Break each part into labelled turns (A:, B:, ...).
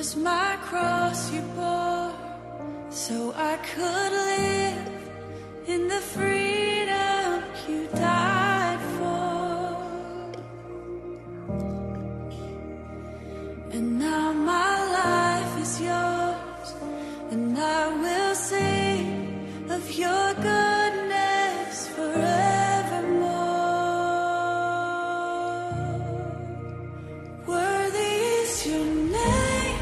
A: my cross you bore, so I could live in the freedom you died for. And now my life is yours, and I will sing of your goodness forevermore. Worthy is your name,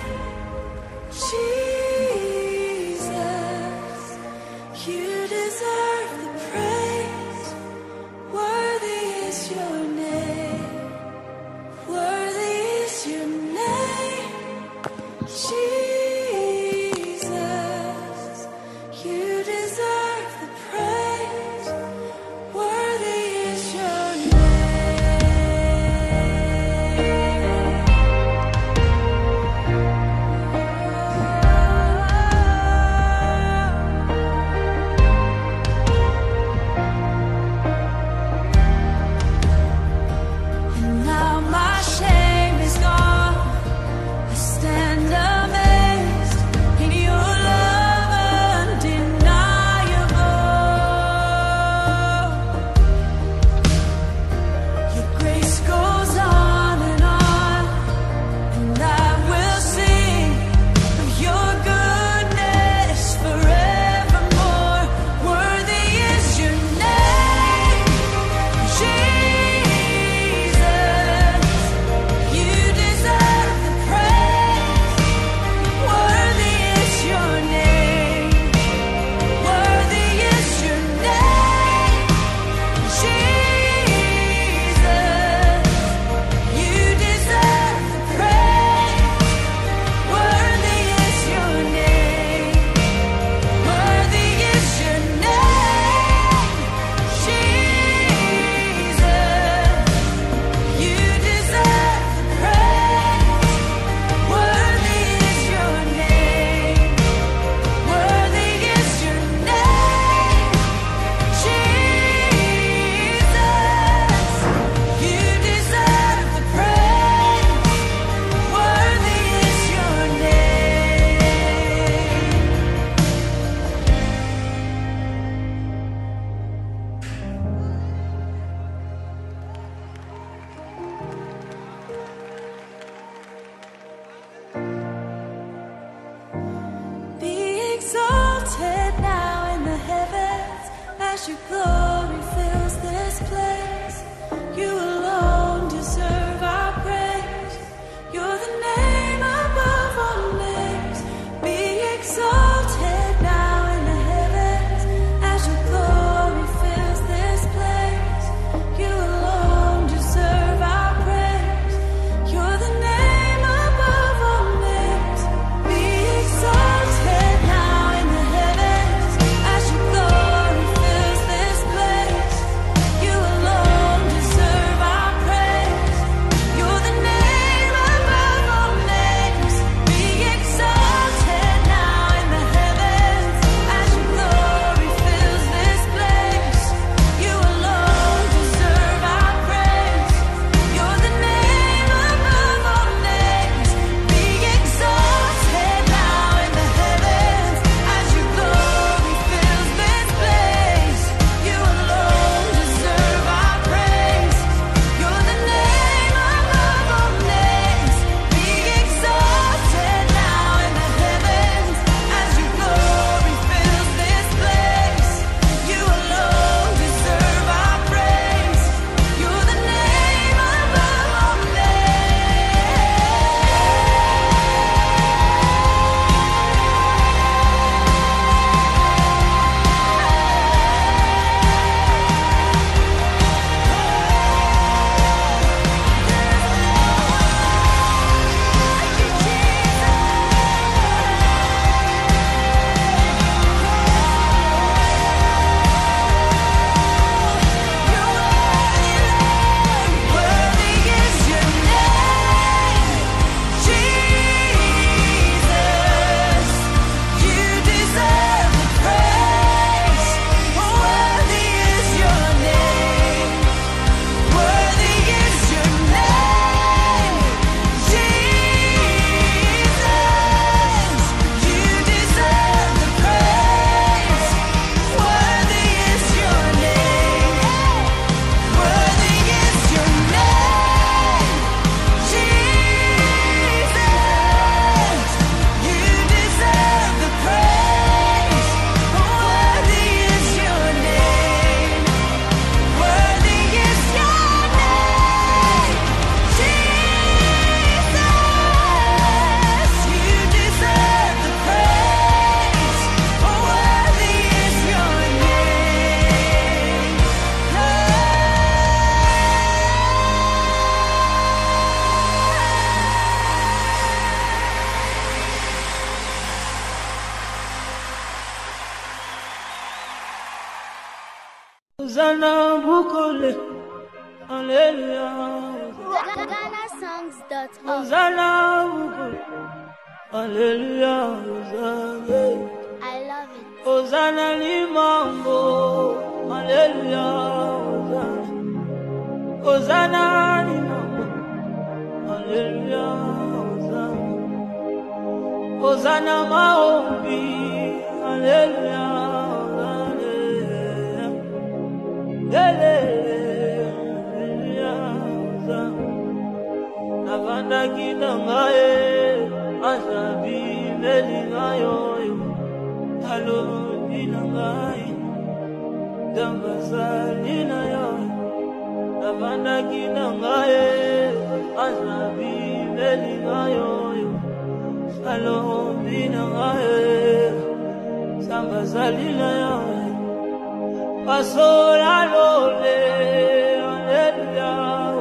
A: Jesus. You deserve the praise. Worthy is your name.
B: Hosanna Bukole, Hallelujah.
C: GhanaSongs.org.
B: Hosanna Bukole, Hallelujah. Hosanna.
C: I love it.
B: Hosanna Limambo, Hallelujah. Hosanna. Hosanna Limambo, Hallelujah. Hosanna. Hosanna Maombi, Hallelujah. Navanda kina ngaye asabi meli ngayo halo dina ngaye dambasali na yo navanda kina ngaye asabi meli ngayo halo dina ngaye dambasali na yo pasola lole hallelujah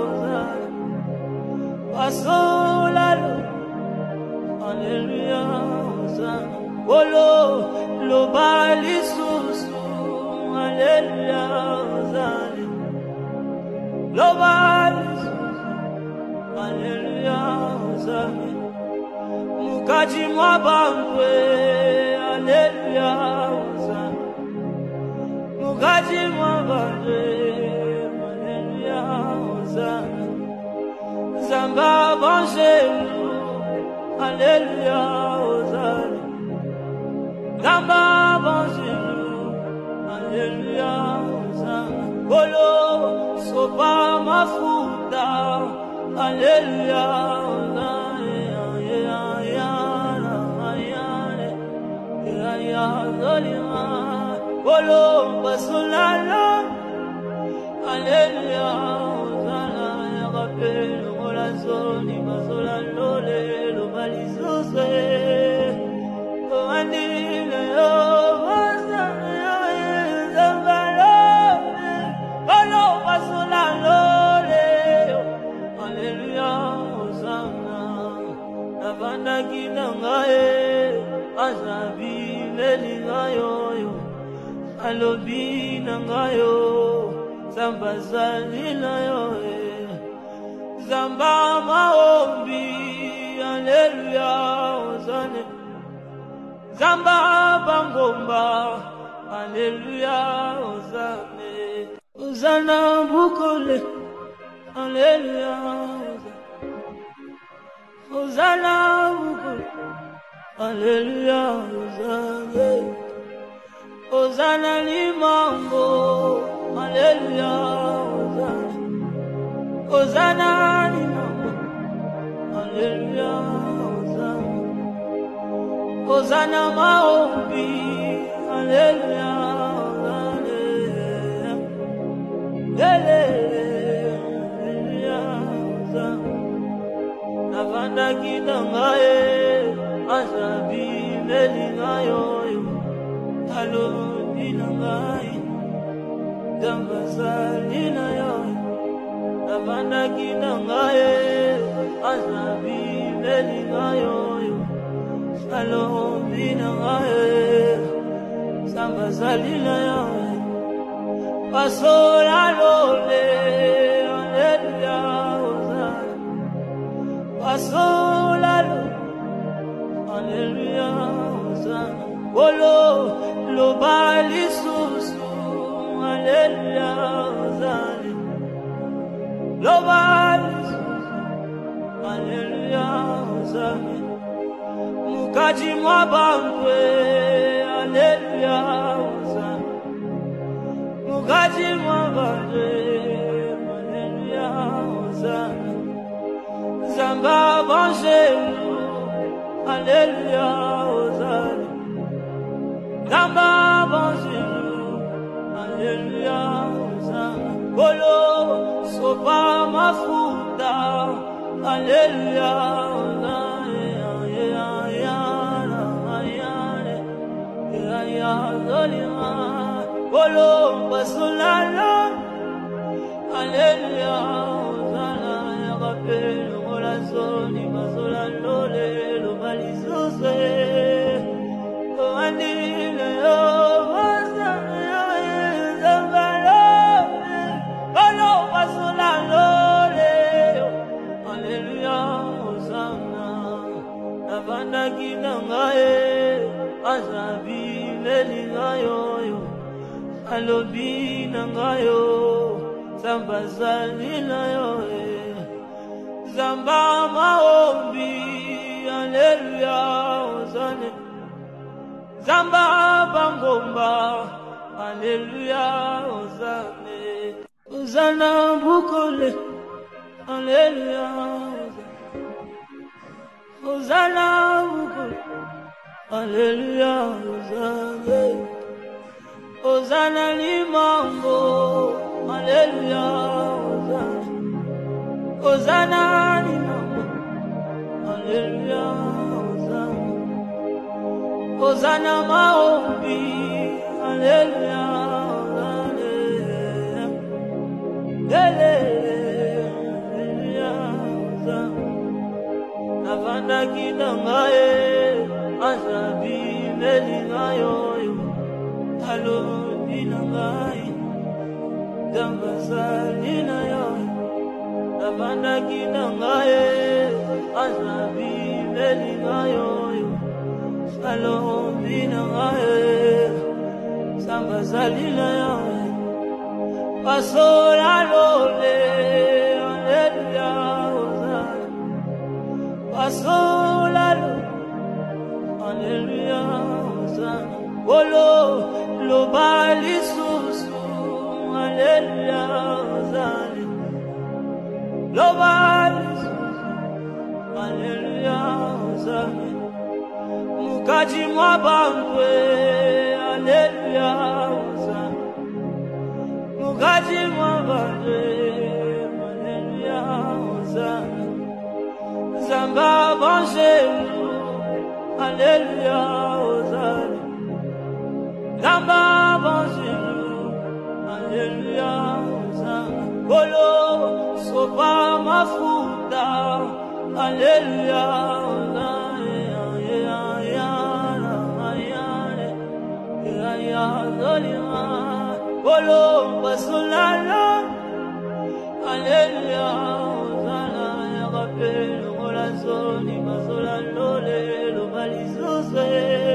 B: pasola lole hallelujah hosanna wolo lo bali susu hallelujah hosanna lo bali susu hallelujah hosanna mukaji mwabangwe hallelujah hosanna mukaji mwabangwe hallelujah hosanna zamba banjelu hallelujah hosanna zamba banjelu hallelujah hosanna golo sopa mafuta hallelujah hosanna ya zalima golo basulala hallelujah hosanna ya rappel la zone mazola lole lo balizose andile yo hosanna zambalo olo mazola lole hallelujah hosanna navanda kina ngaye azabi meli ngayo alobi na ngayo zambazali na yo zamba maombi hallelujah hosanna zamba bangomba hallelujah hosanna hosanna bukole hallelujah hosanna bukole hallelujah hosanna hosanna limambo hallelujah hosanna limambo hallelujah hosanna hosanna maombi hallelujah hallelujah hosanna navanda kina ngaye asabi meli ngayo halo dina ngaye dambasali na yo navanda kina ngaye asabi meli ngayo halo dina ngaye dambasali na yo pasola lole hallelujah hosanna pasola lole hallelujah hosanna wolo lo bali susu hallelujah hosanna lo bali susu hallelujah hosanna mukaji mwabangwe hallelujah hosanna mukaji mwabangwe hallelujah hosanna zamba banjelu hallelujah hosanna zamba banjelu hallelujah hosanna golo sopa mafuta hallelujah hosanna ya zalima golo basulala hallelujah hosanna ya rappel la zone mazola lole lo balizose andile yo hosanna zambalo navandaki na ngai azabi lelinga yoyo alobi na ngai yo zamba zali na yo zamba maombi haleluya ozane zamba bangomba haleluya ozane ozana bukole haleluya ozana bukole haleluya ozane ozana limango haleluya ozane ozana limango haleluya ozane ozana maombi haleluya ozane haleluya ozane navandaki na ngai azabi lelinga yoyo alobi na ngai zamba zali na yo navandaki na ngai azabi lelinga yoyo alobi na ngai zamba zali na yo pasola lole haleluya ozana pasola lole haleluya ozana Olo lo bali susu haleluya ozane lo bali susu haleluya ozane mukaji mwa bangwe haleluya ozane mukaji mwa bangwe haleluya ozane zamba vangelu haleluya ozane Zamba bonjour, haleluya, ozana Golo, sopa mafuta, haleluya, ozana Golo, basolala, haleluya, ozana Rappel, molazoni, basolalole, lo balizose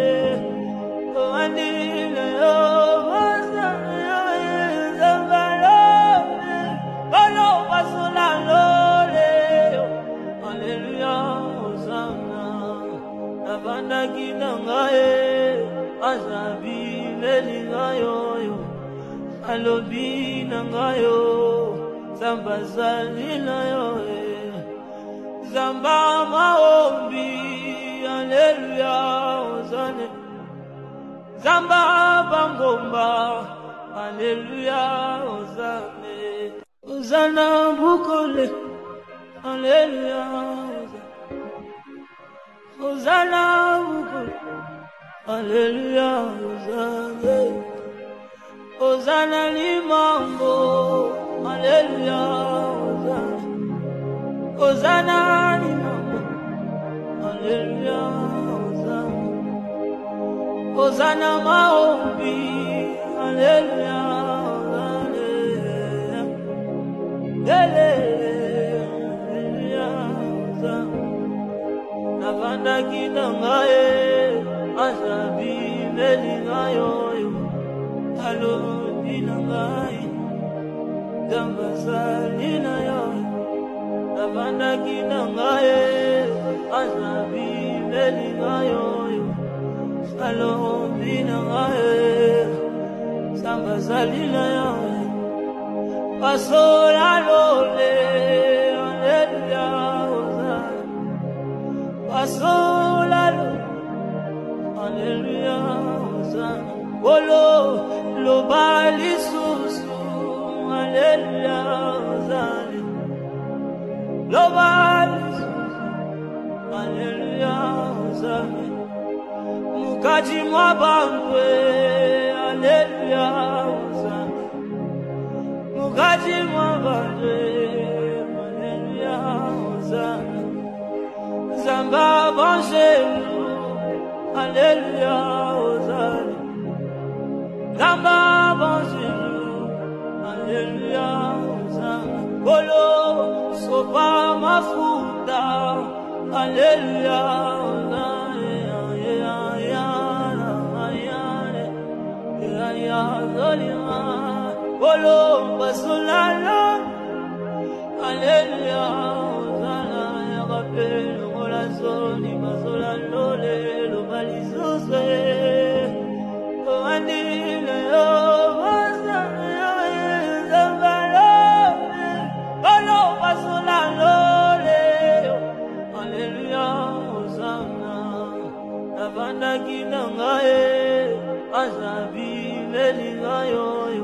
B: Andile yo basana zambalole Olo basula lole Haleluya ozana Navandaki na ngai azabi lelinga yoyo alobi na ngai yo zamba zali na yo zamba maombi haleluya ozane Zamba bangomba, haleluya, ozane, ozana bukole, haleluya, ozana bukole, haleluya, ozane, ozana limango, haleluya, ozane, ozana limango, haleluya, ozane. Ozana maombi, haleluya, haleluya, navandaki na ngai azabi lelinga yoyo alobi na ngai zamba zali na yo navandaki na ngai azabi lelinga yoyo alobi na ngai zamba zali na yo pasola lole haleluya ozana pasola lole haleluya ozana Olo lo bali susu haleluya ozana lo bali susu haleluya ozana mukaji mwa bangwe haleluya ozana mukaji mwa bangwe haleluya ozana zamba vangelu haleluya ozana zamba vangelu haleluya ozana Golo sopa mafuta haleluya ozana Olo basolalo. Hallelujah. Hosanna ya kapelo ngola zoni basolalo lelo balizuzwe. Koandile yo Hosanna ya zambalo. Olo basolalo lelo. Hallelujah. Hosanna. Navanda kinangae. Azabi melingayo.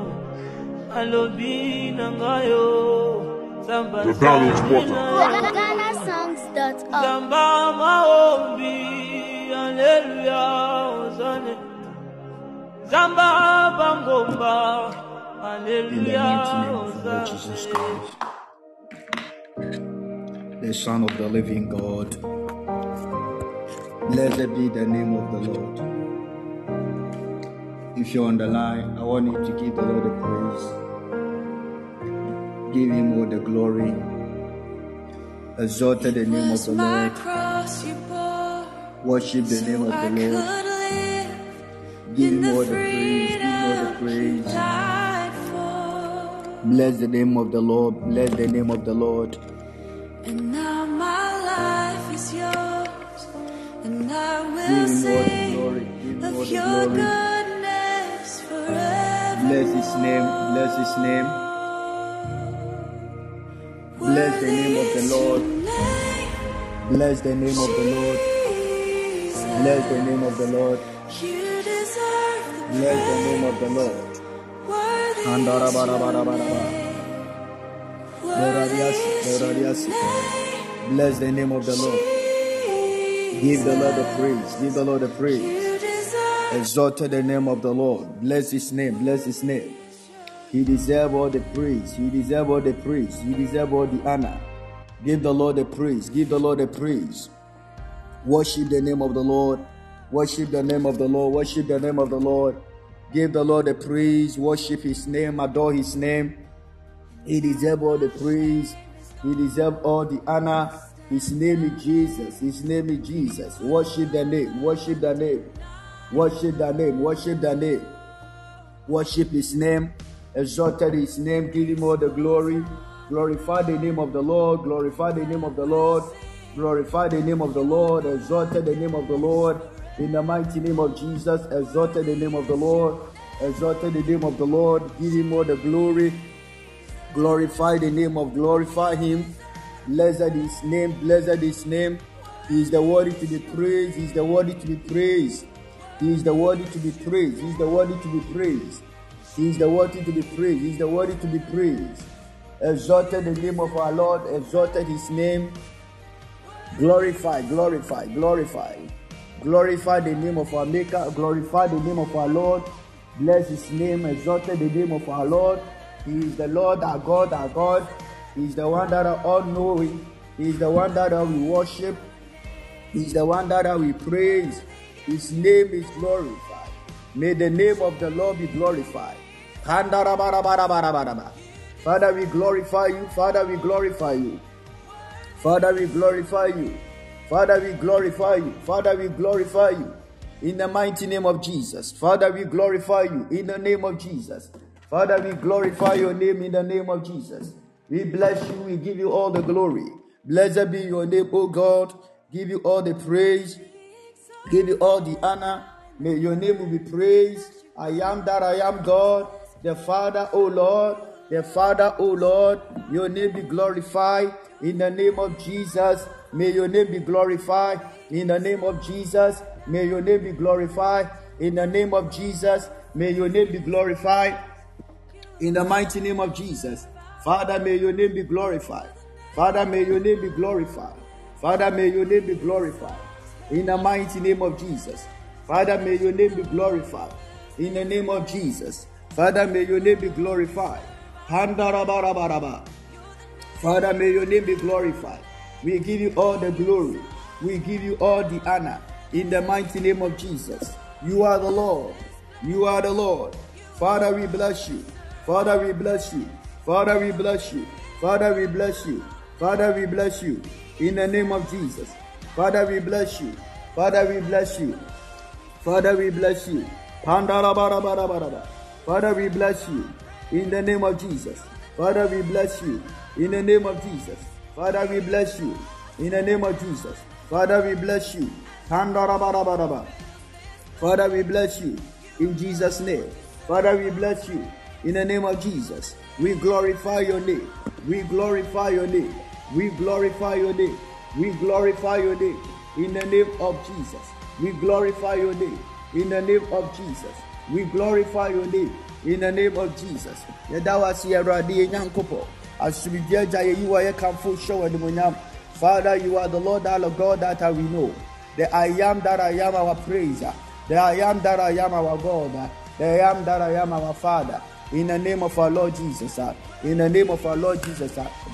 B: Alobi nangayo.
C: The Downloads Water.
A: GhanaSongs.org.
B: Zamba maombi, hallelujah, Hosanna. Zamba bangomba,
D: In the mighty
B: hallelujah,
D: name of the Lord Jesus
B: Hosanna.
D: Christ, the Son of the living God. Blessed be the name of the Lord. If you're on the line, I want you to give the Lord the praise. Give him all the glory. Exalted the name of the Lord. Worship the name of the Lord. Give him all the praise. Give him all the praise. Bless the name of the Lord. Bless the name of the Lord.
A: And now my life is yours, and I will
D: Give him all the
A: sing
D: glory. Give him all
A: of
D: the
A: your
D: glory.
A: goodness forever.
D: Bless his name. Bless his name. Bless the name of the Lord. Bless the name of the Lord. Bless the name of the Lord.
A: You deserve the
D: Bless the name of the Lord.
A: worthy
D: Andarabarabarabaraba. Doradiasi, doradiasi. Bless the name of the Lord. Give the Lord the praise. Give the Lord the praise.
A: You deserve
D: Exalted the name of the Lord. Bless his name. Bless his name. He deserves all the praise. He deserves all the praise. He deserves all the honor. Give the Lord the praise. Give the Lord the praise. Worship the name of the Lord. Worship the name of the Lord. Worship the name of the Lord. Give the Lord the praise. Worship his name. Adore his name. He deserves all the praise. He deserves all the honor. His name is Jesus. His name is Jesus. Worship the name. Worship the name. Worship the name. Worship the name. Worship his name. Exalted his name. Give him all the glory. Glorify the name of the Lord. Glorify the name of the Lord. Glorify the name of the Lord. Exalted the name of the Lord. In the mighty name of Jesus. Exalted the name of the Lord. Exalted the name of the Lord. Give him all the glory. Glorify the name of, glorify him. Blessed his name. Blessed his name. He is the worthy to be praised. He is the worthy to be praised. He is the worthy to be praised. He is the worthy to be praised. He is the worthy to be praised. He is the worthy to be praised. Exalted the name of our Lord. Exalted his name. Glorify, glorify, glorify. Glorify the name of our Maker. Glorify the name of our Lord. Bless his name. Exalted the name of our Lord. He is the Lord, our God, our God. He is the one that are all-knowing. He is the one that we worship. He is the one that we praise. His name is glorified. May the name of the Lord be glorified. Father, we glorify you. Father, we glorify you. Father, we glorify you. Father, we glorify you. Father, we glorify you. In the mighty name of Jesus. Father, we glorify you. In the name of Jesus. Father, we glorify your name in the name of Jesus. We bless you. We give you all the glory. Blessed be your name, O God. Give you all the praise. Give you all the honor. May your name will be praised. I am that I am God. The Father, O Lord. The Father, O Lord. Your name be glorified. In the name of Jesus. May your name be glorified. In the name of Jesus. May your name be glorified. In the name of Jesus. May your name be glorified. In the mighty name of Jesus. Father, may your name be glorified. Father, may your name be glorified. Father, may your name be glorified. In the mighty name of Jesus. Father, may your name be glorified. In the name of Jesus. Father, may your name be glorified. Father, may your name be glorified. We give you all the glory. We give you all the honor. In the mighty name of Jesus. You are the Lord. You are the Lord. Father, we bless you. Father, we bless you. Father, we bless you. Father, we bless you. Father, we bless you. In the name of Jesus. Father, we bless you. Father, we bless you. Father, we bless you. Father, we bless you. In the name of Jesus. Father, we bless you. In the name of Jesus. Father, we bless you. In the name of Jesus. Father, we bless you. Father, we bless you. In Jesus' name. Father, we bless you. In the name of Jesus. We glorify your name. We glorify your name. We glorify your name. We glorify your name. In the name of Jesus. We glorify your name. In the name of Jesus. We glorify your name. In the name of Jesus. Yadawasi Yaradi Yankopo. Asubija you are a comfort show and the Father, you are the Lord, our God that we know. The I am that I am our praiser. The I am that I am our God. The I am that I am our Father. In the name of our Lord Jesus. In the name of our Lord Jesus.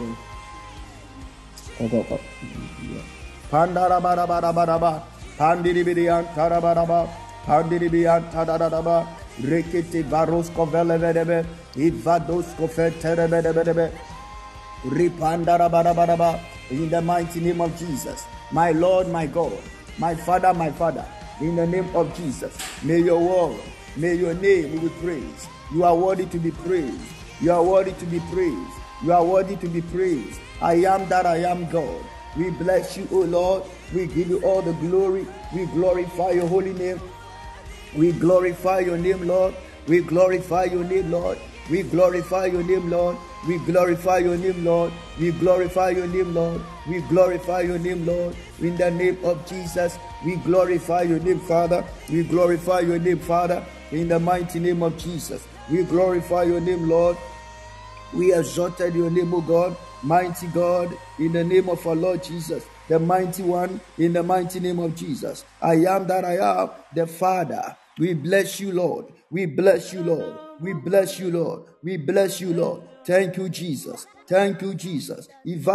D: Pandarabarabarabaraba. Pandiribian Tarabaraba. Pandiribian Tadaraba. Rekete Barosko Velevedebe. Ivadosko Feterebedebe. Ripandarabaraba. In the mighty name of Jesus. My Lord, my God. My Father, my Father. In the name of Jesus. May your word, may your name be praised. You are worthy to be praised. You are worthy to be praised. You are worthy to be praised. I am that I am God. We bless you, O Lord. We give you all the glory. We glorify your holy name. We glorify your name, Lord. We glorify your name, Lord. We glorify your name, Lord. We glorify your name, Lord. We glorify your name, Lord. We glorify your name, Lord. In the name of Jesus, we glorify your name, Father. We glorify your name, Father. In the mighty name of Jesus, we glorify your name, Lord. We exalted your name, O God, mighty God, in the name of our Lord Jesus, the mighty one, in the mighty name of Jesus. I am that I am, the Father. We bless you, Lord. We bless you, Lord. We bless you, Lord. We bless you, Lord. Thank you, Jesus. Thank you, Jesus.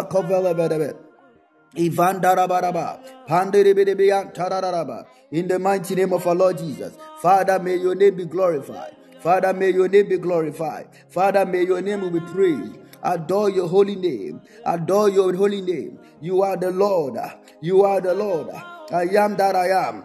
D: Ivandarabaraba, Pandiribidibian Tararaba. In the mighty name of our Lord Jesus. Father, may your name be glorified. Father, may your name be glorified. Father, may your name be praised. Adore your holy name. Adore your holy name. You are the Lord. You are the Lord. I am that I am.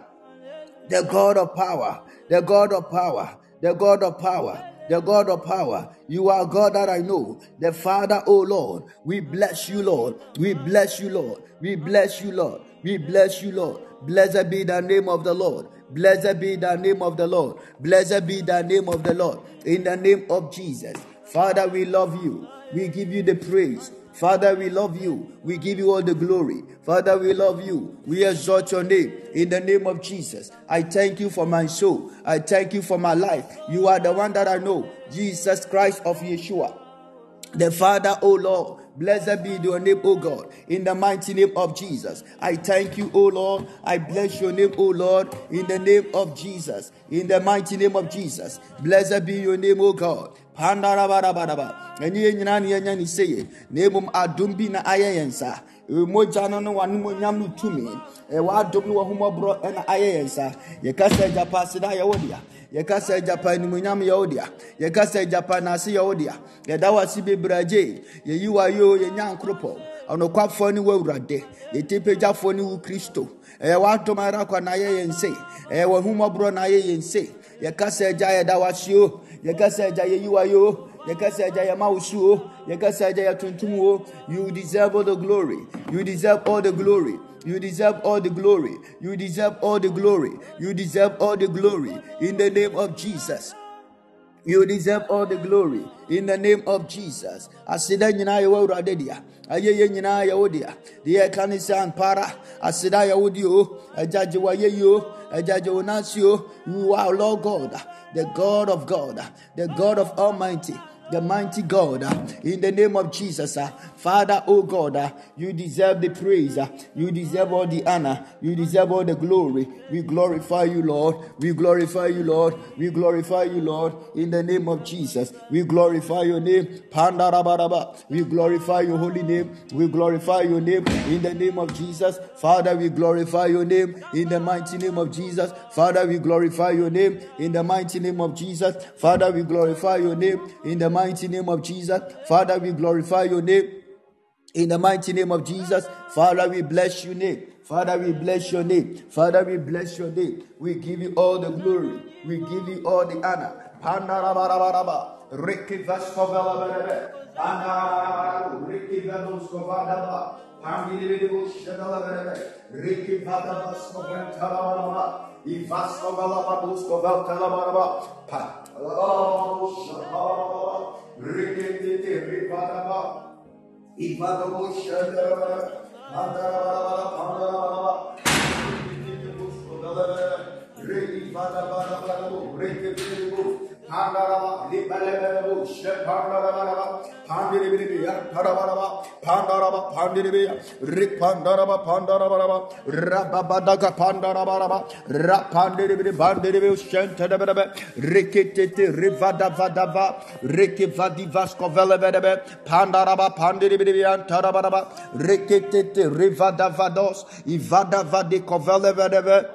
D: The God of power. The God of power. The God of power. The God of power. You are God that I know. The Father, O Lord. We bless you, Lord. We bless you, Lord. We bless you, Lord. We bless you, Lord. Blessed be the name of the Lord. Blessed be the name of the Lord. Blessed be the name of the Lord. In the name of Jesus. Father, we love you. We give you the praise. Father, we love you. We give you all the glory. Father, we love you. We exalt your name in the name of Jesus. I thank you for my soul. I thank you for my life. You are the one that I know. Jesus Christ of Yeshua. The Father, O Lord, blessed be your name, O God, in the mighty name of Jesus. I thank you, O Lord. I bless your name, O Lord, in the name of Jesus. In the mighty name of Jesus. Blessed be your name, O God. Pandarabarabara. And ye nyani say, Nebum adumbi na ayensa. Mojano no wanu nyamnu tumi. Wa adum no humobro na ayensa. Ye kasa japasida ya wodia. Yekasa Japan munyam yodia. Yekasa Japan asi yodia. Yedawa sibe braje. Ye you are yo ye nyan kropo. Ono kwafo ni wawrade. Ye tepeja fo ni wu Kristo. Wa tomara kwa na ye yense. Wa humobro na ye yense. Yekasa ja yedawa sio. Yekasa ja ye you are yo. Yekasa ja ye mausu. Yekasa ja ye tuntumu. You deserve all the glory. You deserve all the glory. You deserve all the glory. You deserve all the glory. You deserve all the glory. In the name of Jesus. You deserve all the glory. In the name of Jesus. Asida nyina ya wawura dedia. Ayeye nyina ya wodia. Diye kanisa para. Asida ya wodio. Ajaje wa yeyo. Ajaje onasio. You are Lord God. The God of God. The God of Almighty. The mighty God, in the name of Jesus, Father, oh God, you deserve the praise, you deserve all the honor, you deserve all the glory. We glorify you, Lord. We glorify you, Lord. We glorify you, Lord, in the name of Jesus. We glorify your name, Pandarabaraba. We glorify your holy name. We glorify your name in the name of Jesus. Father, we glorify your name in the mighty name of Jesus. Father, we glorify your name in the mighty name of Jesus. Father, we glorify your name in the mighty name of Jesus. Father, we glorify your name in the mighty name of Jesus. Father, we bless your name. Father, we bless your name. Father, we bless your name. We give you all the glory. We give you all the honor. Pandarabaraba. Ricky Vascovella Berebe, Panda, Ricky Vadoscovadaba, Pandilibu Shadala Berebe, Ricky Vadavascovan Talabaraba, Ivascovella Baduscovel Talabaraba, Ricky Rivadaba, Ivadabo Shadala, Pandara, Ricky Vadabarabu, Ricky Pandaraba, Libalabu, Shepandaraba, Pandiribia, Tarabaraba, Pandaraba, Pandiribia, Ripandaraba, Pandaraba, Rababadaga, Pandarabaraba, Rapandiribi, Bandiribi, Shentadabe, Rikiti, Rivada Vadava, Riki Vadivasco Velebebe, Pandaraba, Pandiribia, Tarabaraba, Rikiti, Rivada Vados, Ivada Vadico Velebebe.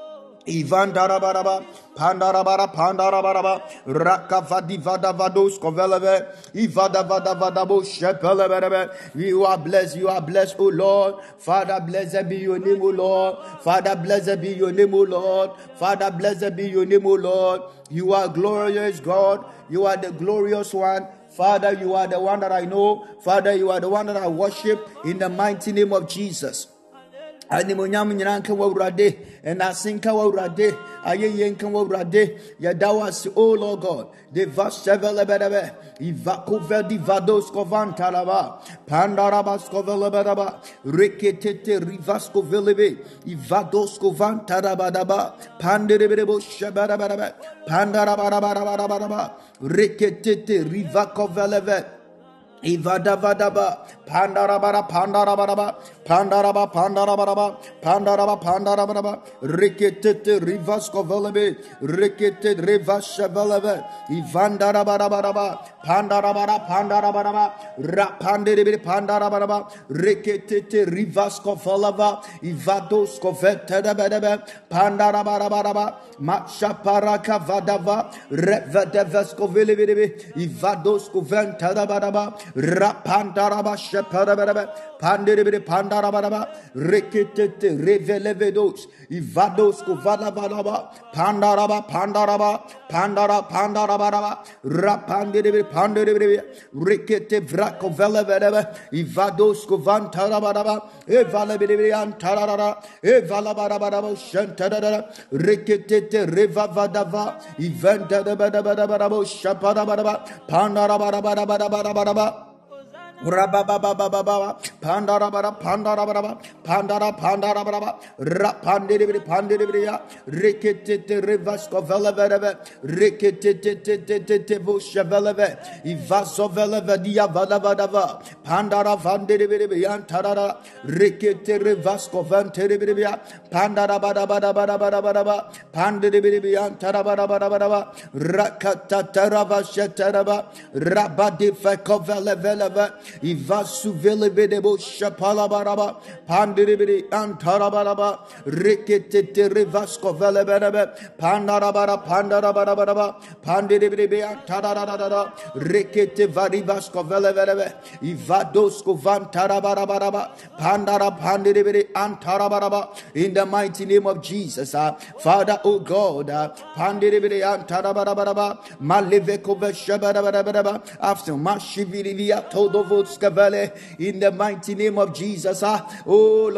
D: Ivan Darabaraba, Pandarabara, Pandarabaraba, Rakavadi Vadavados, Koveleve, Ivada Vadavadabo, Shepelebe. You are blessed, O Lord. Father, blessed be your name, O Lord. Father, blessed be your name, O Lord. Father, blessed be your name, O Lord. You are glorious, God. You are the glorious one. Father, you are the one that I know. Father, you are the one that I worship in the mighty name of Jesus. Animonyam nyanka wawrade and asinka wawrade ayenka wawrade yadawas o Lord God de vasevelebedebe ivakuve vados kovantalaba pandarabas kovelebedaba reketete rivasko velebe ivados kovantarabadaba panderebebo shabarabadaba pandarabarabarabarabaraba reketete rivakovelebe Ivadavadaba, Pandarabara, Pandarabaraba, Pandaraba, Pandarabaraba, Pandaraba, Pandarabaraba, Rikete, Rivasko Velebe, Rikete, Rivasha Velebe, Ivandarabaraba, Pandarabara, Pandarabaraba, Rapandere, Pandarabaraba, Rikete, Rivasko Velava, Ivadosko Vetadabadaba, Pandarabaraba, Machaparaka Vadava, Revadevasko Velebe, Ivadosko Ventadabadaba, Rapandaraba Sheparababa Pandiribiri Pandarabaraba Rikitete Revelevedos Ivados Kuvalabalaba Pandaraba Pandaraba Pandarabaraba Rapandiribiri Pandiribiri Rikete Vrakovelevedeva Ivados Kuvantarabaraba Evalabiri Antarara Evalabarabaraba Shantara Rikitete Revavadava Eventadabadabadabadabo Shaparabaraba Pandarabarabarabaraba Rabababababa, Pandarabara, Pandarabara, Pandarabaraba, Rapandibri, Pandibria, Rikitete, Rivasko Veleve, Rikitete, Bushaveleve, Ivasoveleve, Diavalavadava, Pandara Vandibri, Antara, Rikite, Rivasco Vanteribria, Pandarabara, Pandibri, Antara, Rakatarava Shetaraba, Rabadi Fakoveleve, Ivasu Velebedebo Shapalabaraba, Pandiribiri Antarabaraba, Rikete Rivasco Velebedebe, Pandarabaraba, Pandiribiri Antarada, Rikete Varivasco Velebedebe, Ivadosco Vantarabaraba, Pandiribiri Antarabaraba, in the mighty name of Jesus, Father, O God, Pandiribiri Antarabaraba, Maliveko Veshabarabaraba, after Mashivivia Todo. In the mighty name of Jesus, oh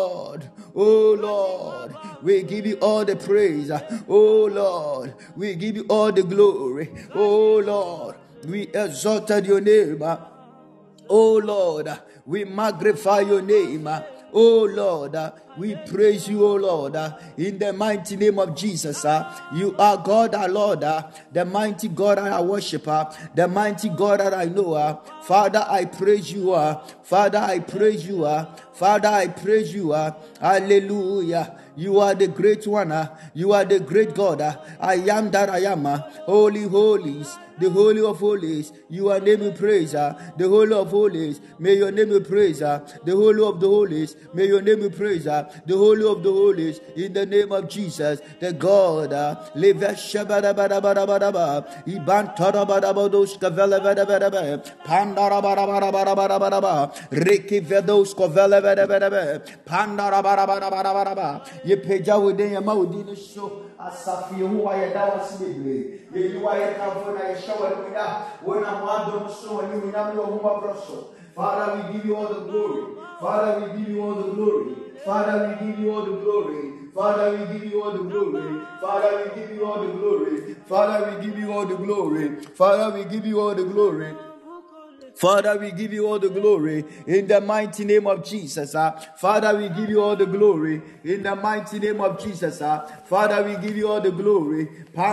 D: Lord, we give you all the praise, oh Lord, we give you all the glory, oh Lord, we exalted your name, oh Lord, we magnify your name, oh Lord, we praise you, oh Lord, in the mighty name of Jesus. You are God, our Lord, the mighty God that I worship, the mighty God that I know. Father, I praise you. Father, I praise you. Father, I praise you. Hallelujah. You are the great one. You are the great God. I am that I am. Holy holies, the holy of holies. You are name be praised. The holy of holies. May your name be praised. The holy of the holies. May your name be praised. The holy of the holies. In the name of Jesus, the God. Live shabadabadabadabadaba. Iban tarabadabados kavelabadabadaba. Pandarabadabadabadabadaba. Riki vedos kavelabadabadaba. Pandarabadabadabadabadaba. Ye peja within your mouth, so Asafi Yehowa yɛda wo ase bebree. Yehowa yɛkamfo na yɛhyɛ wo animuonyam. Wo na mo adom so animuonyam ne wo ho aborɔ so. Father, we give you all the glory. Father, we give you all the glory. Father, we give you all the glory. Father, we give you all the glory. Father, we give you all the glory. Father, we give you all the glory. Father, we give you all the glory. Father, we give you all the glory in the mighty name of Jesus. Father, we give you all the glory in the mighty name of Jesus. Father, we give you all the glory.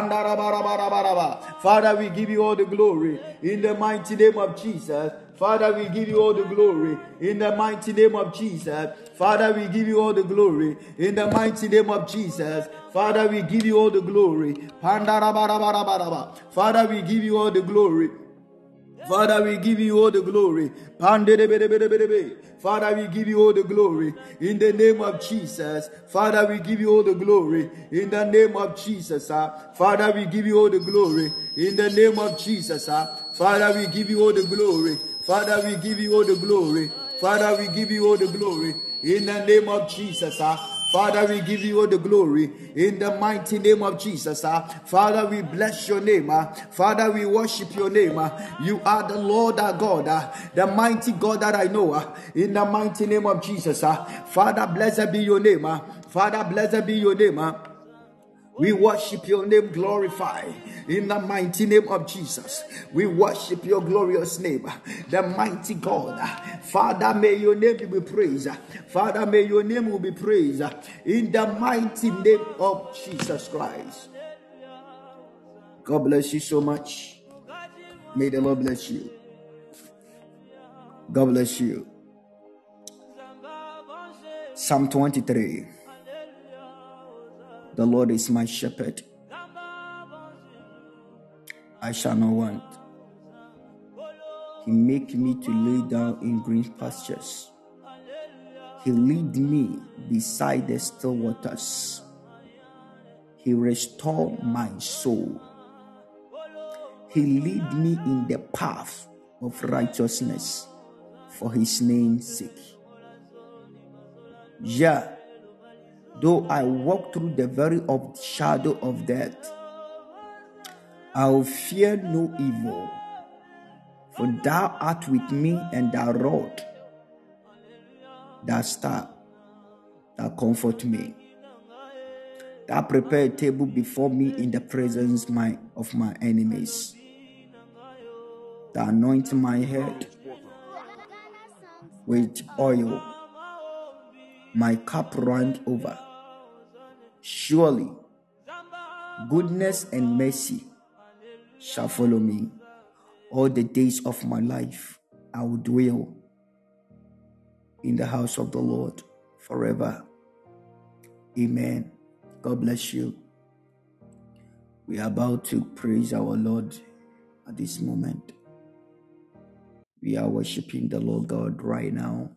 D: Father, we give you all the glory in the mighty name of Jesus. Father, we give you all the glory in the mighty name of Jesus. Father, we give you all the glory in the mighty name of Jesus. Father, we give you all the glory. Father, we give you all the glory. Father, we give you all the glory. Father, we give you all the glory in the name of Jesus. Father, we give you all the glory in the name of Jesus. Father, we give you all the glory in the name of Jesus. Father, we give you all the glory. Father, we give you all the glory. Father, we give you all the glory in the name of Jesus. Father, we give you all the glory in the mighty name of Jesus. Father, we bless your name. Father, we worship your name. You are the Lord our God, the mighty God that I know. In the mighty name of Jesus. Father, blessed be your name. Father, blessed be your name. We worship your name, glorify in the mighty name of Jesus. We worship your glorious name, the mighty God. Father, may your name be praised. Father, may your name be praised in the mighty name of Jesus Christ. God bless you so much. May the Lord bless you. God bless you. Psalm 23. The Lord is my shepherd. I shall not want. He make me to lay down in green pastures. He lead me beside the still waters. He restore my soul. He lead me in the path of righteousness for his name's sake. Yeah. Though I walk through the very shadow of death, I will fear no evil, for thou art with me, and thy rod, thy staff, thou comfort me. Thou prepare a table before me in the presence of my enemies. Thou anoint my head with oil, my cup runneth over. Surely goodness and mercy shall follow me all the days of my life. I will dwell in the house of the Lord forever. Amen. God bless you. We are about to praise our Lord at this moment. We are worshiping the Lord God right now.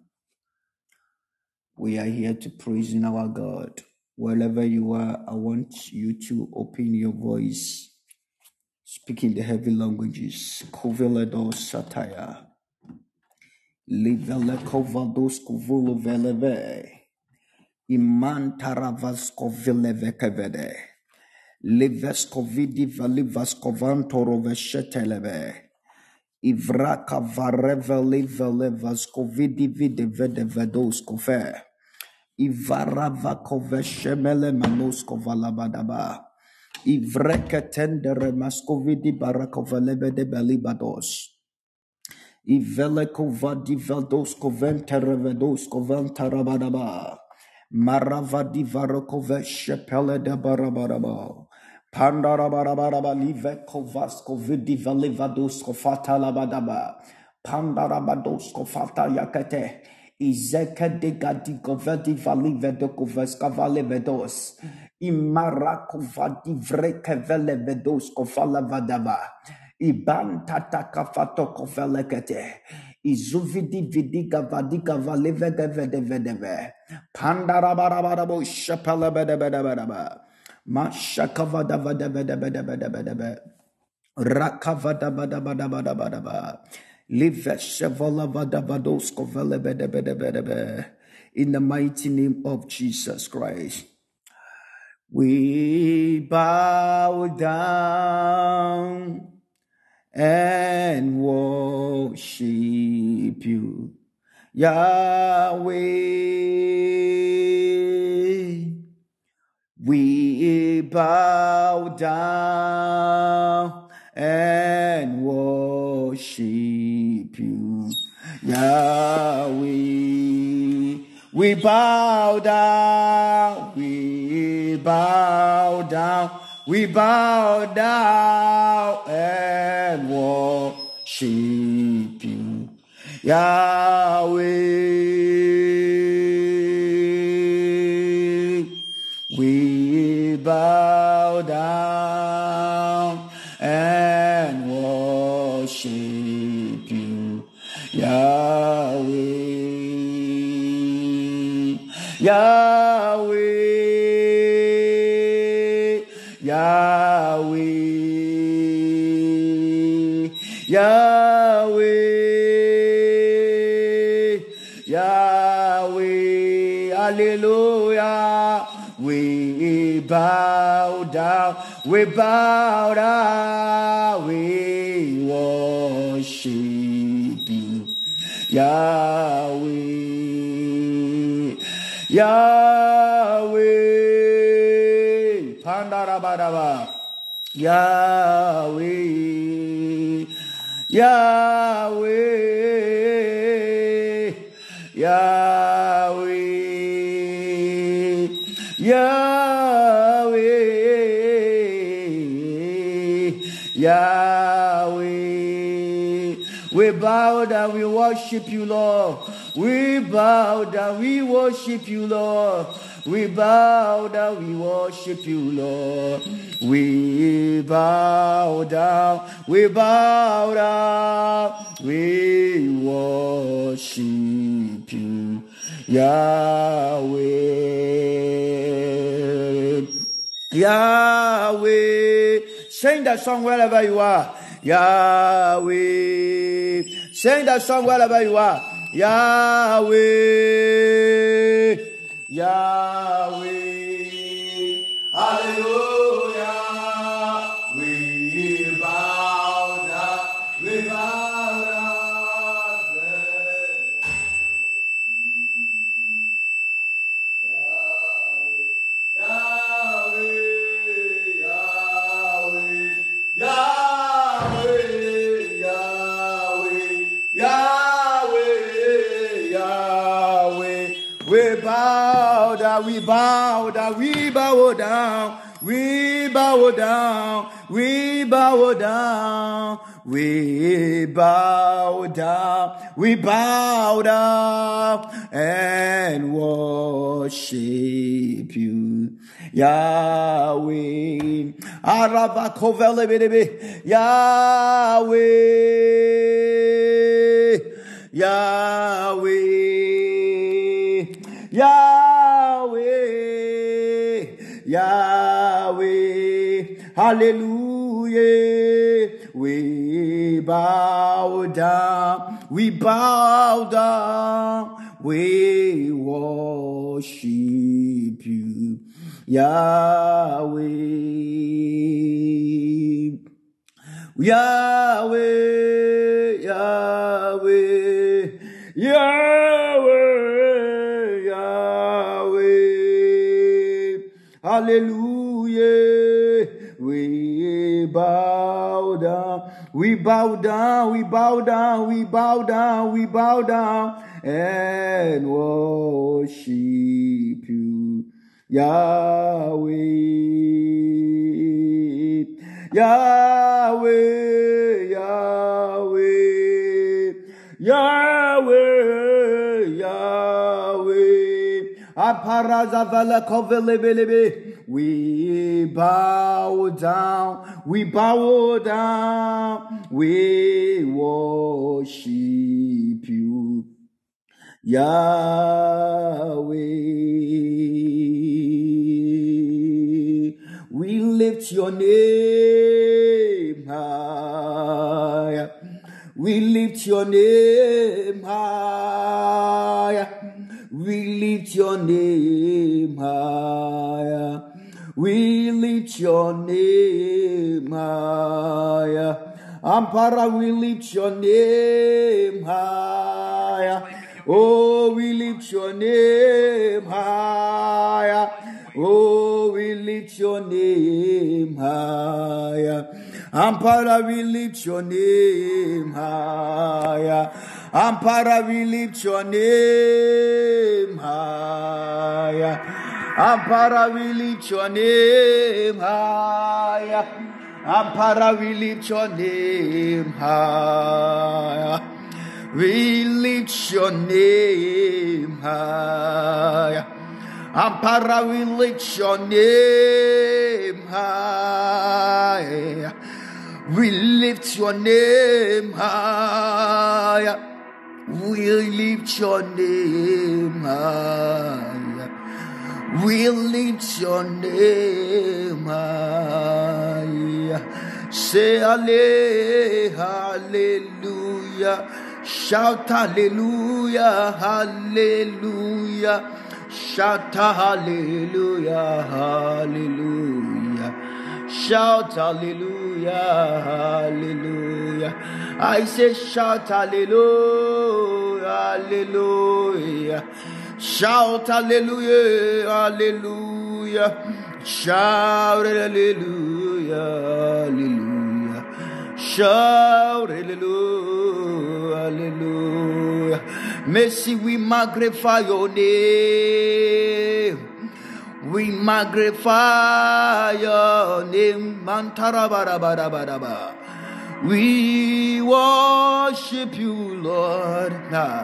D: We are here to praise in our God. Wherever you are, I want you to open your voice, speak in the heavy languages. Koveledos sataya, livele kovados kovulo veleve, iman taravas kovileve kevede, lives kovidi valivas kovantoro vesheteleve, ivraka vareve livelevas kovidi vide vede vedos kofe. Ivarava koveshemele manosko valabadaba. Ivreke tendere maskovidi barakovelebe de belibados. Ivele kovadi veldos koventere vedos koventarabadaba. Maravadi varokoveshepele de barabadaba. Pandarabarabara live kovasko vidi valivados kofata labadaba. Pandarabados kofata yakete. Izeka de gadi govedi vali vedokovas kavale vedos. Imara kovadi vreke vele vedos kovala vadava. Iban tata kafato kovelekete. Izuvidi vidiga vadiga vale vede vede vedeve. Pandarabarabo shapala bede bede bede. Mashakavada vede vede vede vede vede. Rakavada bada bada bada bada bada. In the mighty name of Jesus Christ. We bow down and worship you, Yahweh. We bow down and worship you, Yahweh. We bow down, we bow down, we bow down and worship you, Yahweh. We bow down and worship you, Yahweh. Yahweh, Yahweh, Yahweh, Yahweh, hallelujah. We bow down, we bow down, we worship you, Yahweh. Yahweh, Pandarabadaba, Yahweh, Yahweh, Yahweh, Yahweh, Yahweh. We bow down, we worship you, Lord. We bow down, we worship you, Lord. We bow down, we worship you, Lord. We bow down, we bow down, we worship you, Yahweh. Yahweh. Sing that song wherever you are. Yahweh. Sing that song wherever you are. Yahweh, Yahweh, hallelujah. We bow down, we bow down. Yahweh, Yahweh, Yahweh, Yahweh, Yahweh, Yahweh. We bow down, we bow down, we bow down, we bow down, we bow down, we bow down, we bow down and worship you, Yahweh. Arabakovelebelebe, Yahweh, Yahweh, Yahweh, Yahweh, hallelujah. We bow down, we bow down, we worship you, Yahweh. Yahweh, Yahweh, Yahweh, Yahweh, hallelujah. We bow down, we bow down, we bow down, we bow down, we bow down and worship you, Yahweh. Yahweh, Yahweh, Yahweh, Yahweh. Aparazavala kovelebelebe. We bow down, we bow down, we worship you, Yahweh. We lift your name high. We lift your name high. We lift your name high. We lift your name higher. Ampara, we lift your name higher. Oh, we lift your name higher. Oh, we lift your name higher. Ampara, we lift your name higher. Ampara, we lift your name higher. Ampara, we lift your name higher. Ampara, we lift your name higher. We lift your name higher. Ampara, we lift your name higher. We lift your name higher. We lift your name higher. We lift your name higher. Say hallelujah. Shout hallelujah, hallelujah. Shout hallelujah, hallelujah. Shout hallelujah, hallelujah. I say shout hallelujah, hallelujah. Shout hallelujah, hallelujah. Shout hallelujah, hallelujah. Shout hallelujah, hallelujah. Mercy, we magnify your name. We magnify your name. Mantarabarabarabaraba. We worship you, Lord.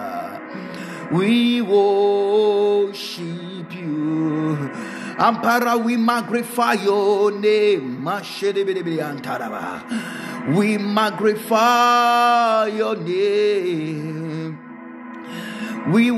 D: We worship you. Ampara, we magnify your name. We magnify your name. We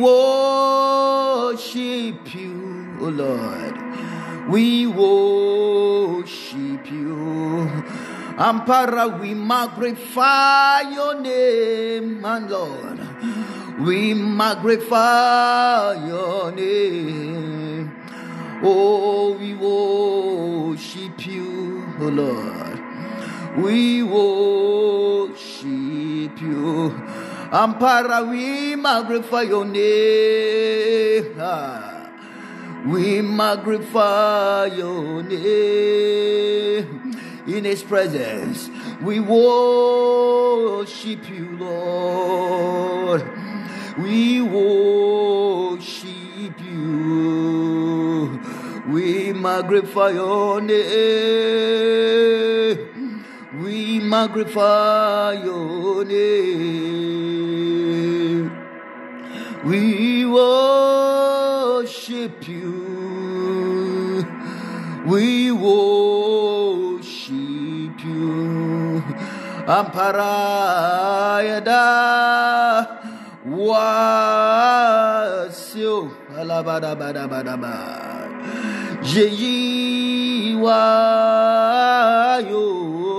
D: worship you, O Lord. We worship you. Ampara, we magnify your name, my Lord. We magnify your name. Oh, we worship you, O Lord. We worship you. Ampara, we magnify your name. We magnify your name. In his presence, we worship you, Lord. We worship you. We magnify your name. We magnify your name. We worship you. We worship you. Amparayada wasio alabadabadabadaba. Jeyi wayo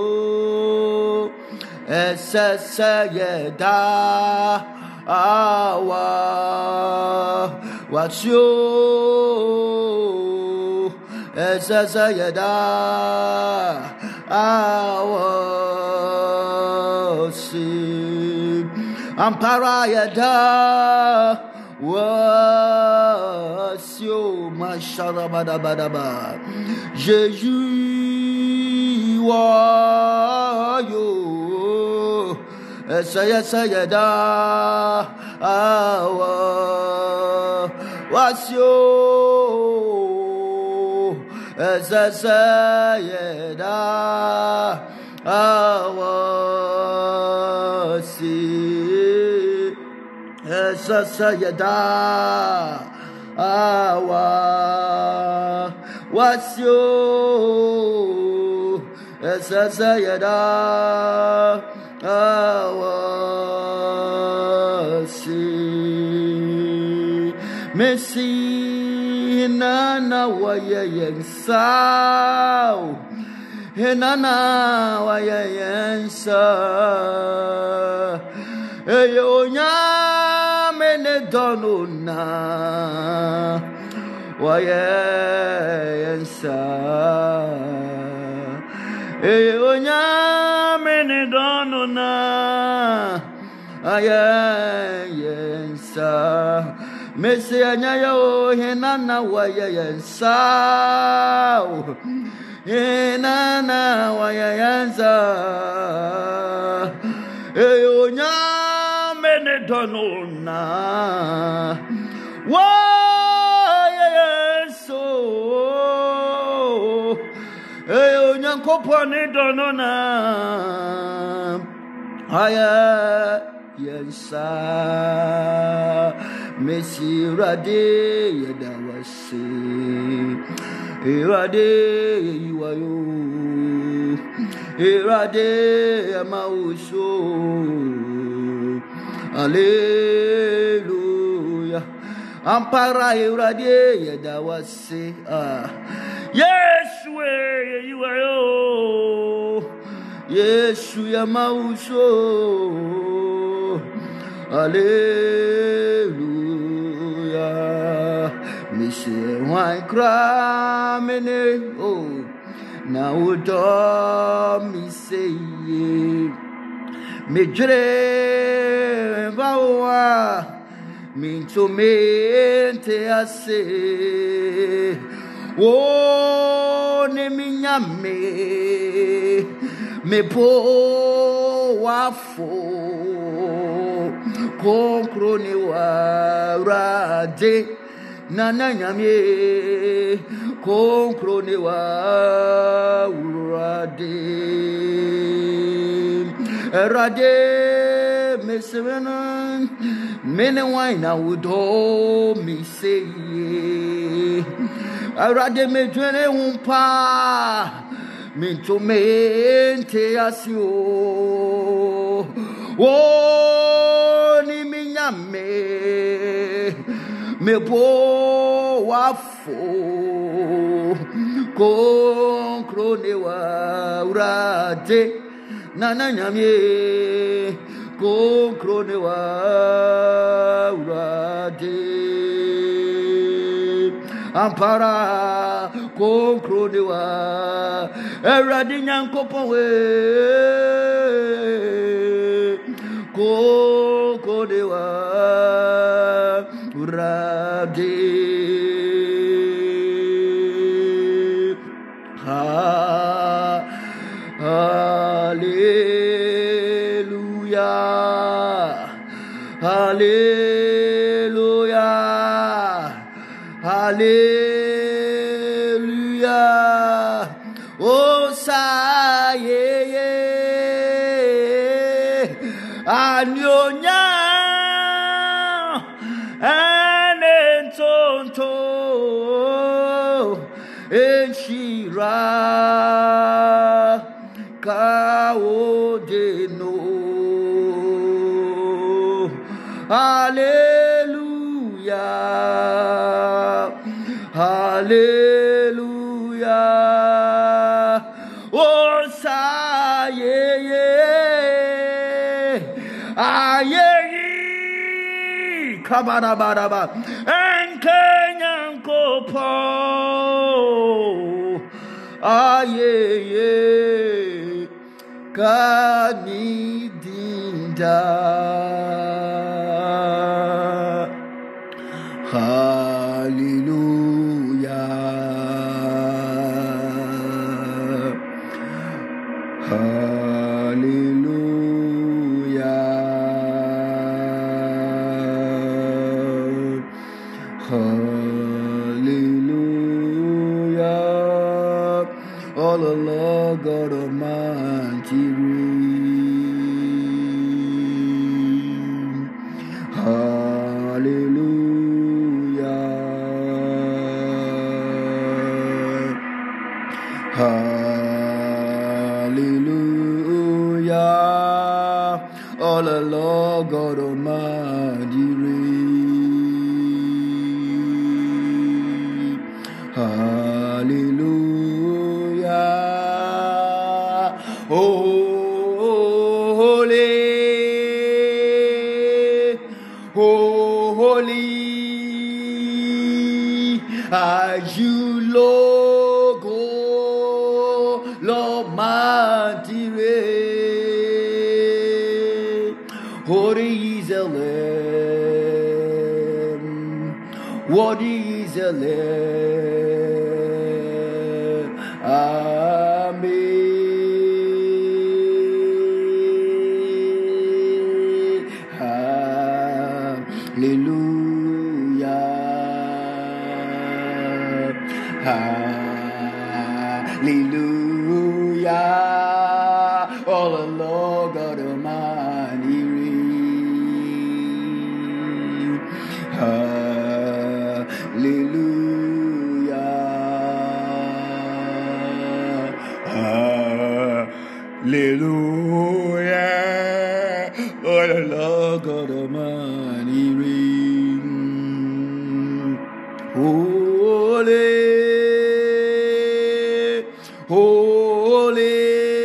D: esesayeda awa wasio esesayeda awa si amparayeda wasio masharabadabadaba. Jésus wayo esayeda awa wasio esayeda awa si esayeda awa wasio esayeda awa si Messi nana wayensau henana wayensa eyo nyame ne donona wayensa onyame ne dono na ayensa mesi anyaya o henana wayensa henana wayensa onyame ne dono na Kopone donona aya yensa mesirade yedawase irade yiwayo irade amauso hallelujah ampara irade yedawase Yeshua, you are Yeshua, Mauso, hallelujah. Monsieur, why cry, oh, now do me say, me dream, vaua, me to me te ase. Oh, ne minyame me po wafo konkro ne warade nana nyame konkro ne warade erade me seven mene wine awudo mi say Arade me dwene umpa minto mente asio o ni minyame me bo wafo konkro ne wa urade nana nyame konkro ne wa urade Ampara konkro dewa eradi nyankopon we konkro dewa urade hallelujah hallelujah Hallelujah. Oh, saye, anyonya, anentonto, enshira, kaodeno. Hallelujah. Hallelujah. Oh, saye, aye, kabarabaraba, enkenyankopo, aye, kanidinda. Hallelujah. Hallelujah. Hallelujah. Oh, the Lord God Almighty reign. Hallelujah. Hallelujah. Oh, the Lord God Almighty reign. Hallelujah. Holy, holy. you, Lord, Lord, mighty reign. Holy is the Lamb. What is the Lamb? Amen. Hallelujah. Oh, the Lord God Almighty reign. Hallelujah. Hallelujah. Oh, the Lord God Almighty reign. Holy. Holy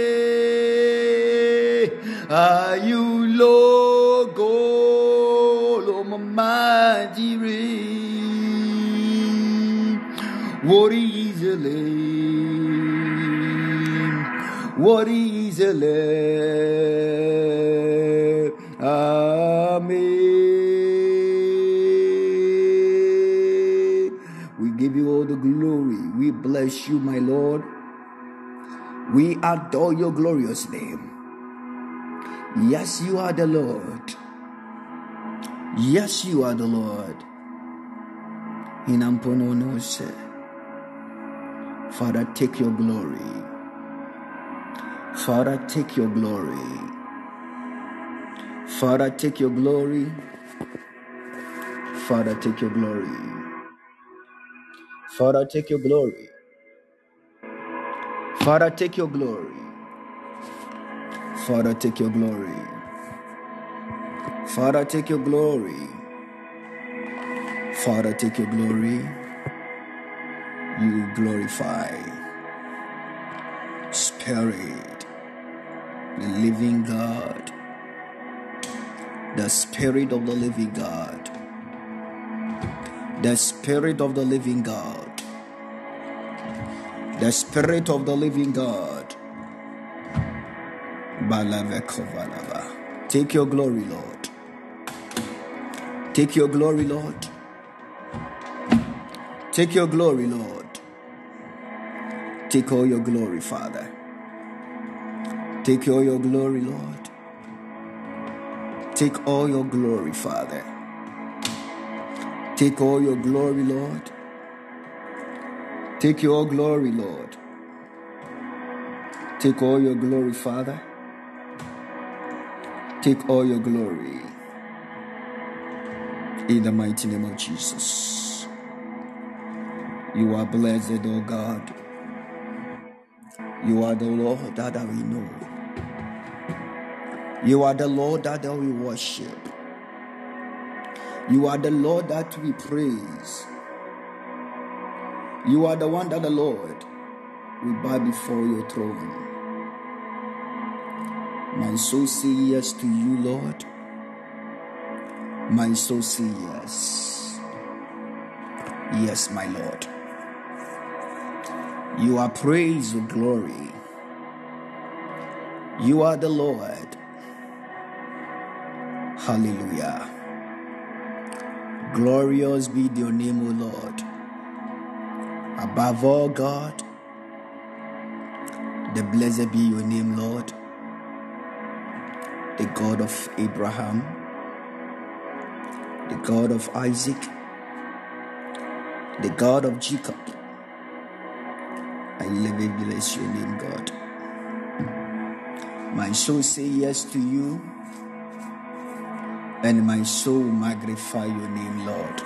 D: are you, Lord God Almighty reign. What is the Lamb? What is the Lamb? Amen. We give you all the glory. We bless you, my Lord. We adore your glorious name. Yes, you are the Lord. Yes, you are the Lord. Father, take your glory. Father, take your glory. Father, take your glory. Father, take your glory. Father, take your glory. Father, take your glory. Father, take your glory. Father, take your glory. Father, take your glory. You glorify. Spirit, the living God. The Spirit of the living God. The Spirit of the living God. The Spirit of the living God. Take your glory, Lord. Take your glory, Lord. Take your glory, Lord. Take all your glory, Father. Take all your glory, Lord. Take all your glory, Father. Take all your glory, Lord. Take your glory, Lord. Take all your glory, Father. Take all your glory. In the mighty name of Jesus. You are blessed, O God. You are the Lord that we know. You are the Lord that we worship. You are the Lord that we praise. You are the one that the Lord we bow before your throne. My soul say yes to you, Lord. My soul say yes. Yes, my Lord. You are praise and glory. You are the Lord. Hallelujah. Glorious be your name, O Lord. Above all, God, the blessed be your name, Lord. The God of Abraham, the God of Isaac, the God of Jacob. I live and bless your name, God. My soul say yes to you, and my soul magnify your name, Lord.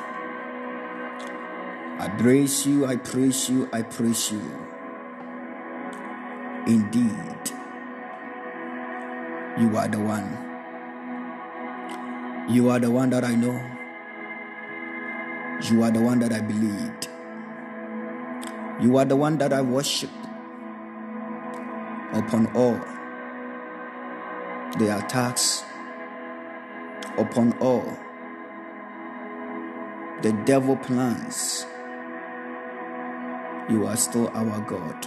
D: I praise you, I praise you, I praise you. Indeed, you are the one. You are the one that I know. You are the one that I believed. You are the one that I worship upon all the attacks, upon all the devil plans. You are still our God.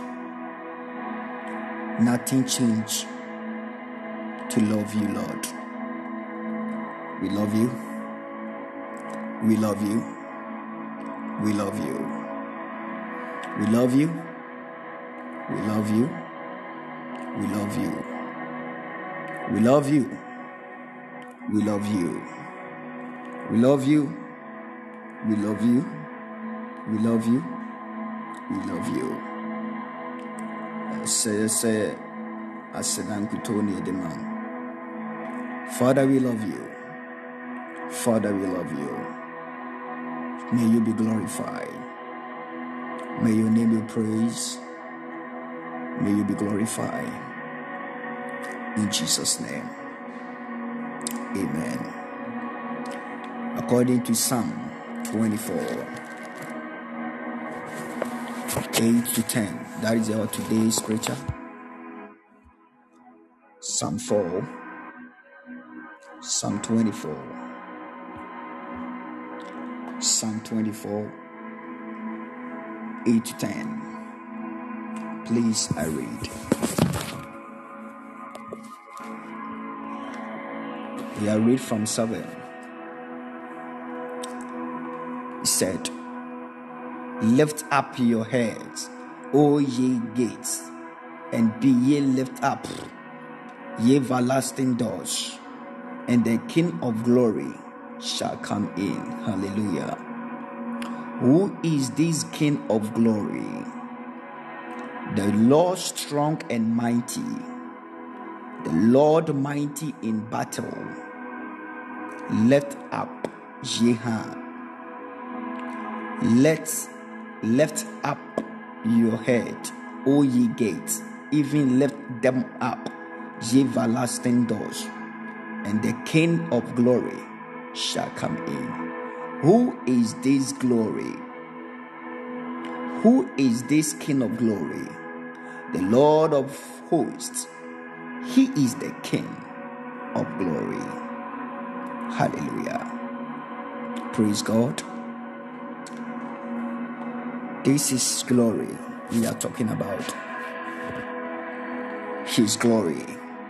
D: Nothing changed to love you, Lord. We love you. We love you. We love you. We love you. We love you. We love you. We love you. We love you. We love you. We love you. We love you. We love you. Say, I said, Father, we love you. Father, we love you. May you be glorified. May your name be praised. May you be glorified. In Jesus' name. Amen. According to Psalm 24, 8 to 10. That is our today's scripture. Psalm 4, Psalm 24, Psalm 24, 8 to 10. Please, I read. We are read from 7. It said, lift up your heads, O ye gates, and be ye lift up, ye everlasting doors, and the King of glory shall come in. Hallelujah. Who is this King of glory? The Lord strong and mighty, the Lord mighty in battle. Lift up ye hands. Lift up your head, O ye gates, even lift them up, ye everlasting doors, and the King of glory shall come in. Who is this glory? Who is this King of glory? The Lord of hosts. He is the King of glory. Hallelujah. Praise God. This is glory we are talking about. His glory.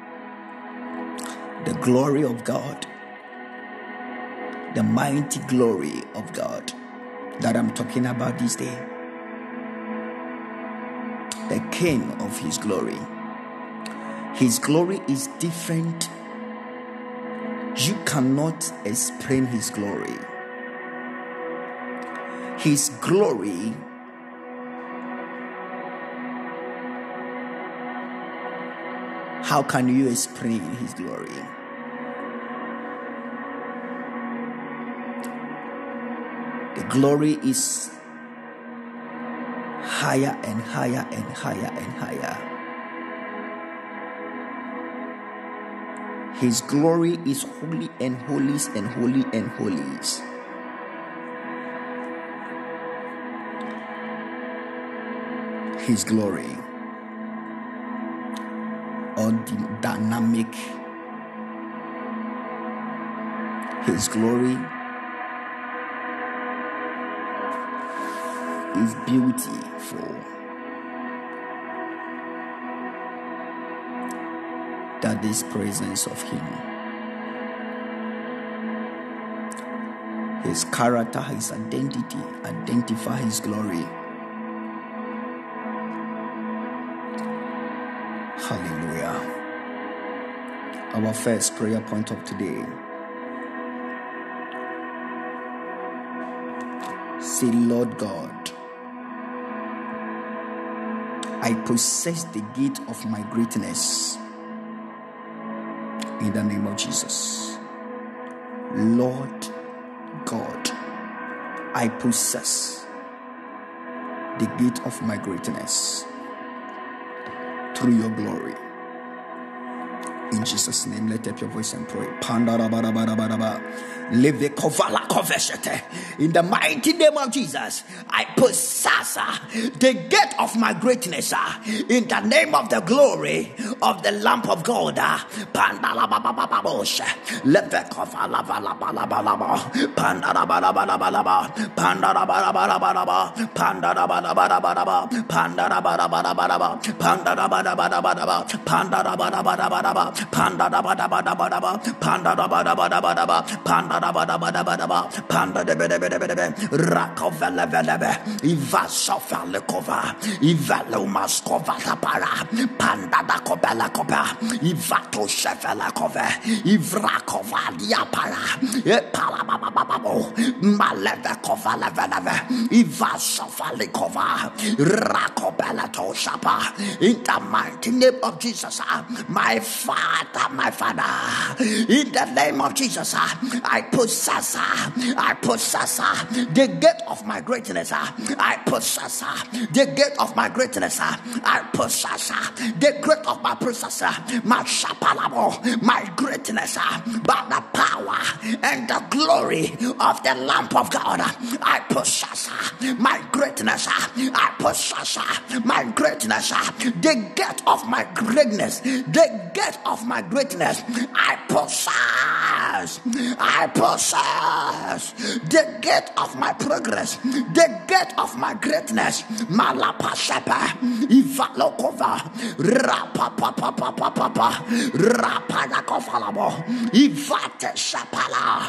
D: The glory of God. The mighty glory of God that I'm talking about this day. The King of His glory. His glory is different. You cannot explain His glory. His glory how can you explain His glory? The glory is higher and higher and higher and higher. His glory is holy and holies and holy and holies. His glory, or the dynamic. His glory is beautiful. That is presence of Him. His character, His identity, identify His glory. Hallelujah. Our first prayer point of today. Say, Lord God, I possess the gate of my greatness. In the name of Jesus. Lord God, I possess the gate of my greatness through your glory. In Jesus' name, let up your voice and pray. In the mighty name of Jesus, I possess the gate of my greatness, in the name of the glory of the lamp of God. Iva sofa le kova, Iva lo maskova la para, Panda da kobela koba, Iva to shefa la kova, Ivra kova dia para, E pala baba babo, Maleve kova la veneve, Iva sofa le kova, Rakobela to shapa, in the mighty name of Jesus, my Father, in the name of Jesus, I possess the gate of my greatness. I possess the gate of my greatness. I possess the gate of my possessor. My shapalabo, my greatness, by the power and the glory of the lamp of God. I possess my greatness. I possess my greatness. The gate of my greatness. The gate of my greatness. I possess the gate of my progress, the gate of my greatness. Malapashapa, Ivalokova, Rapapapapapapa, Rapanakofalabo, Ivate Shapala,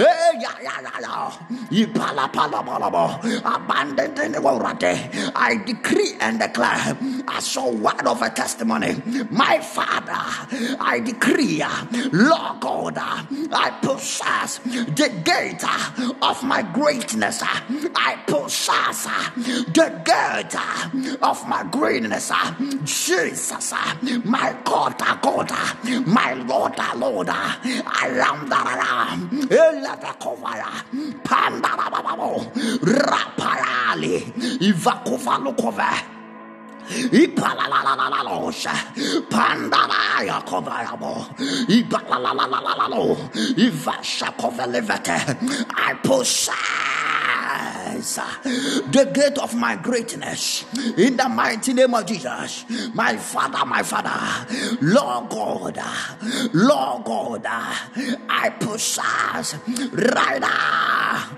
D: Ipalapalabalabo, abandoned in the world. I decree and declare, as a word of a testimony, my Father, I decree, Lord God, I possess the gate of my greatness. I possess the gate of my greatness. Jesus, my God, my Lord, I am that I am. Pandarababo, Raparali, Ivakuvalukova. Ipalalalalalalosha, Pandaraya Kovarabo, Ipalalalalo, Ivasha Kovalevete. I possess the gate of my greatness in the mighty name of Jesus. My Father, Lord God, I possess right now.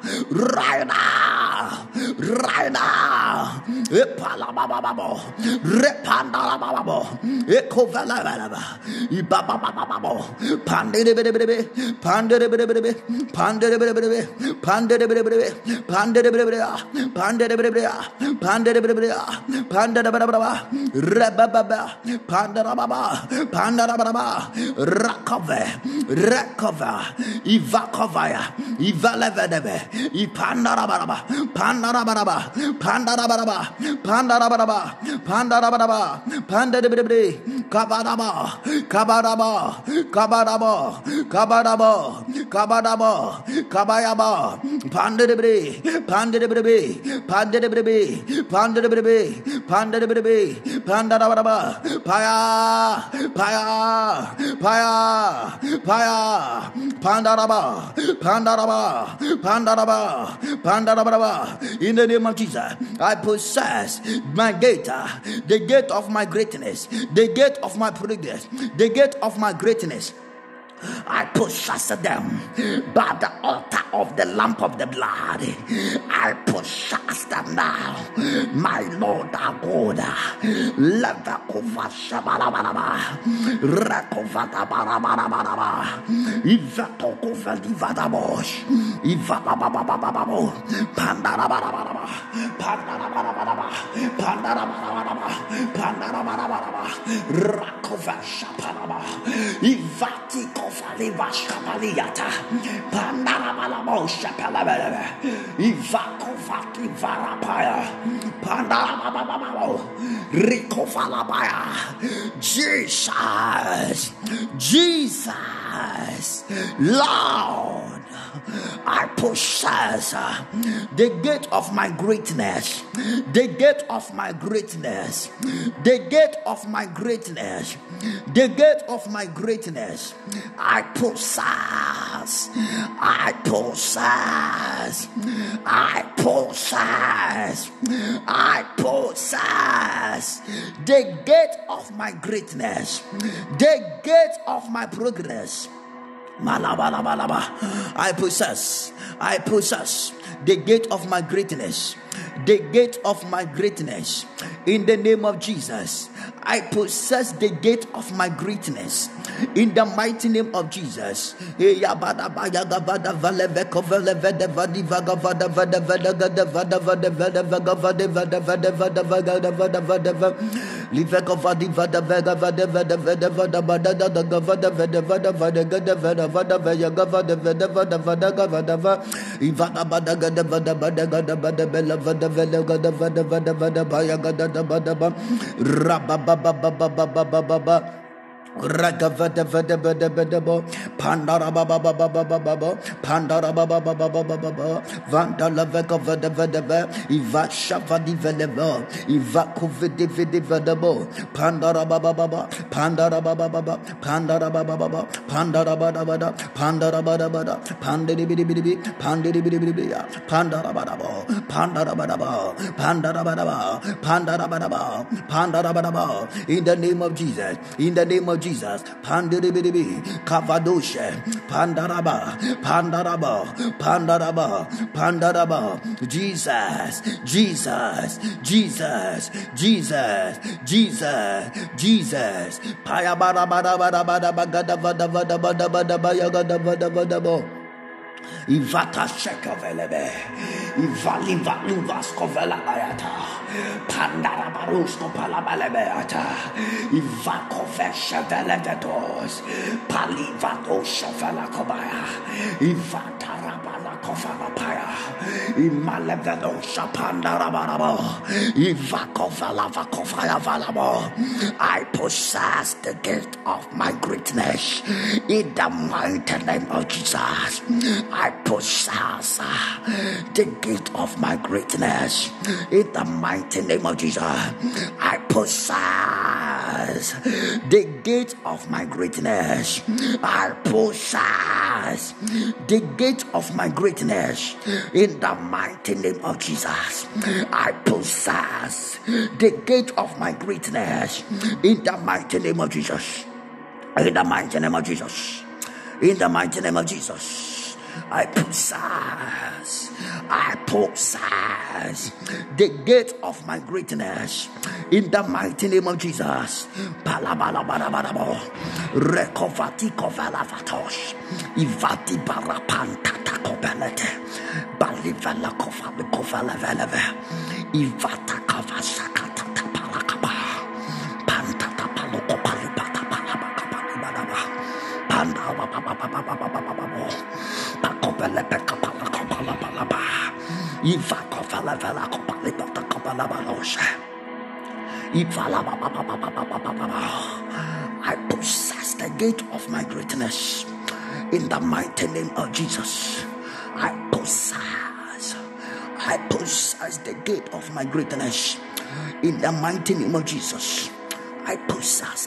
D: Repandalababo, Ekovalababa, Ibabababo, Pandebebe, Pandebebe, Pandebebe, Pandebebe, Pandebebe, Pandebebe, Pandebebe, Pandebaba, Rebaba, Pandarababa, Pandarababa, Rakova, Ivakovaya, Ivalevebe, Ipandarababa, Pandarabaraba, Pandarabaraba, Pandarabaraba, Pandarabaraba, Pandarabaraba, Kabadaba, Kabadaba, Kabadaba, Kabadaba, Kabadaba, Kabayaba, Pandarabaraba, Pandarabaraba, Pandarabaraba, Pandarabaraba, Pandarabaraba, Pandarabaraba, Paya, Paya, Paya, Paya, Pandaraba, Pandaraba, Pandaraba, Pandaraba. In the name of Jesus, I possess my gate, the gate of my greatness, the gate of my progress, the gate of my greatness. I possess them by the altar of the lamp of the blood. I possess them now, my Lord our God. Levakova Shabarabaraba, Rakovata Barabaraba, Ivatokova Divadabosh, Ivabababababo, Pandarabaraba, Pandarabaraba, Pandarabaraba, Pandarabaraba, Rakova Shaparaba, Ivatiko. Falivashkapaliata, Pandarabalabo Shapalabella, Ivakofaki Varapaya, Pandarababo, Rikofalabaya, Jesus, Lord. I possess the gate of my greatness, the gate of my greatness, the gate of my greatness, the gate of my greatness. I possess, I possess, I possess, I possess. possess the gate of my greatness, the gate of my progress. I possess the gate of my greatness, the gate of my greatness. In the name of Jesus, I possess the gate of my greatness. In the mighty name of Jesus. Ragavada vada vada vada bo pandara baba baba baba baba pandara baba baba baba baba vandala vega vada vada va iva shavadi vada bo iva kovide vide vada bo pandara baba baba pandara baba baba pandara baba baba pandara bada bada pandara bada bada pandiri bidi bidi bidi pandiri bidi bidi bidi pandara bada bo pandara bada bo pandara bada bo pandara bada bo pandara bada bo. In the name of Jesus, in the name of Jesus, Pandiribidibi, Kavadoshe, Pandaraba, Pandaraba, Pandaraba, Pandaraba, Jesus, Jesus, Jesus, Jesus, Jesus, Jesus, Payabara, Ivata Shekovelebe, Ivaliva Luvas Kovela Ayata, Pandara Barusko Palabalebeata, Ivakove Velegados, Palivato Shevela Kobaya, Ivata Rabala Kofala Paya, Imalevedo Shapandara Barabo, Ivakovela Vakofaya Valabo. I possess the gift of my greatness in the mighty name of Jesus. I possess the gift of my greatness in the mighty name of Jesus. I possess the gate of my greatness. I possess the gate of my greatness in the mighty name of Jesus. I possess the gate of my greatness in the mighty name of Jesus. In the mighty name of Jesus. In the mighty name of Jesus. I possess the gate of my greatness in the mighty name of Jesus. Palabalabalabalo, rekovati kovalavatos, ivati barapantata kobelete, balivala kovali kovalaveleve, ivata kavasakata palakaba, pantata palokopalipata palabakapalibadaba, pandababababababababo. I possess the gate of my greatness in the mighty name of Jesus. I possess the gate of my greatness in the mighty name of Jesus. I possess.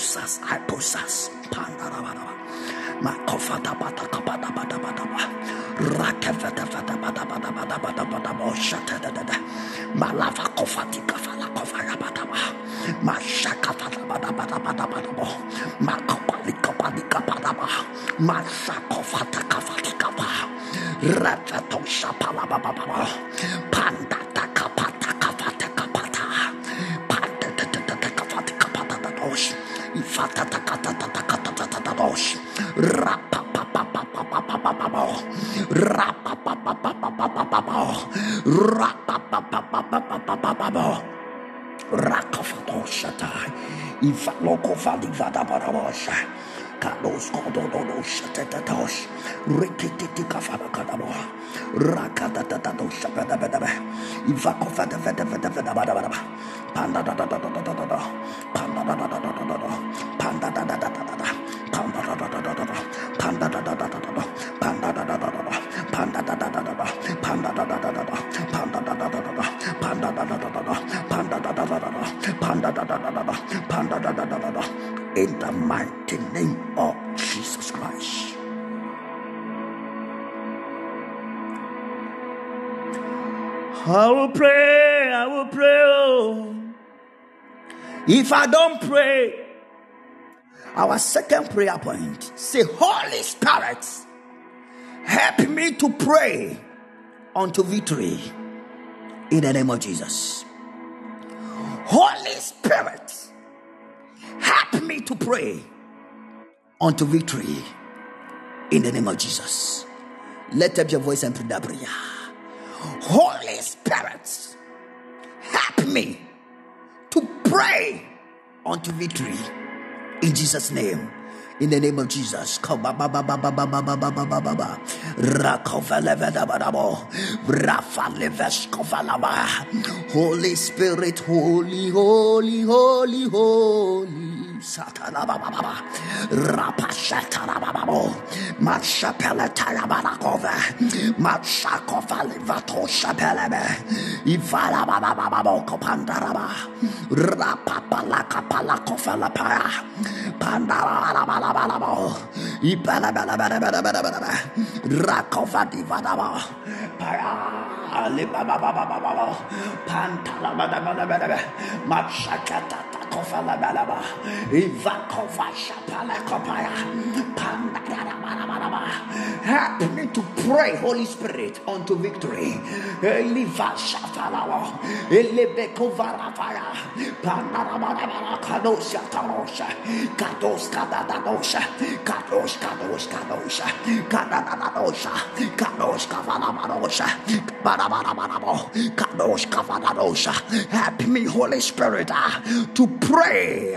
D: Makofata bata kabata bata bata ba rakavata bata bata bata bata bata bata ba shata da da malava kofati kafala kofaya bata ba mashaka bata bata bata bata bata ba makopali kopali kapata ba mashakofata kafati kapa ratato shapala baba baba panda takapata kafata kapata panda kafati kapata da dosh ifata takata takata da dosh Kalos kododo shatatatos rikititi kafana kadabo rakatatato shapadabada ivakofada vada vada vada vada vada panda da da da da da da da panda da da da da da da panda da da da da da panda da da da da da panda da da da da da panda da da da da panda da da da da panda da da da da panda da da da da panda da da da da panda da da da da panda da da da da panda da da da da. In the mighty name of Jesus Christ.
B: I will pray,
D: If I don't pray, our second prayer point, say, Holy Spirit, help me to pray unto victory in the name of Jesus. Holy Spirit, help me to pray unto victory in the name of Jesus. Let up your voice and pray that prayer. Holy Spirit, help me to pray unto victory in Jesus' name. In the name of Jesus. Holy Spirit, holy, holy, holy, holy. Satanababa, Rapashatanababo, Machapelatarabakova, Machakofalivato Shapelebe, Ivalabababo Copandaraba, Rapapalakapalakofalapaya, Pandarabalabo, Ipalabalabalabalabalaba, Rakovadivadaba, Paya, Libababababo, Pantalabalabalaba, Machakata. Help me to pray, Holy Spirit, unto victory. Help me, Holy Spirit, to pray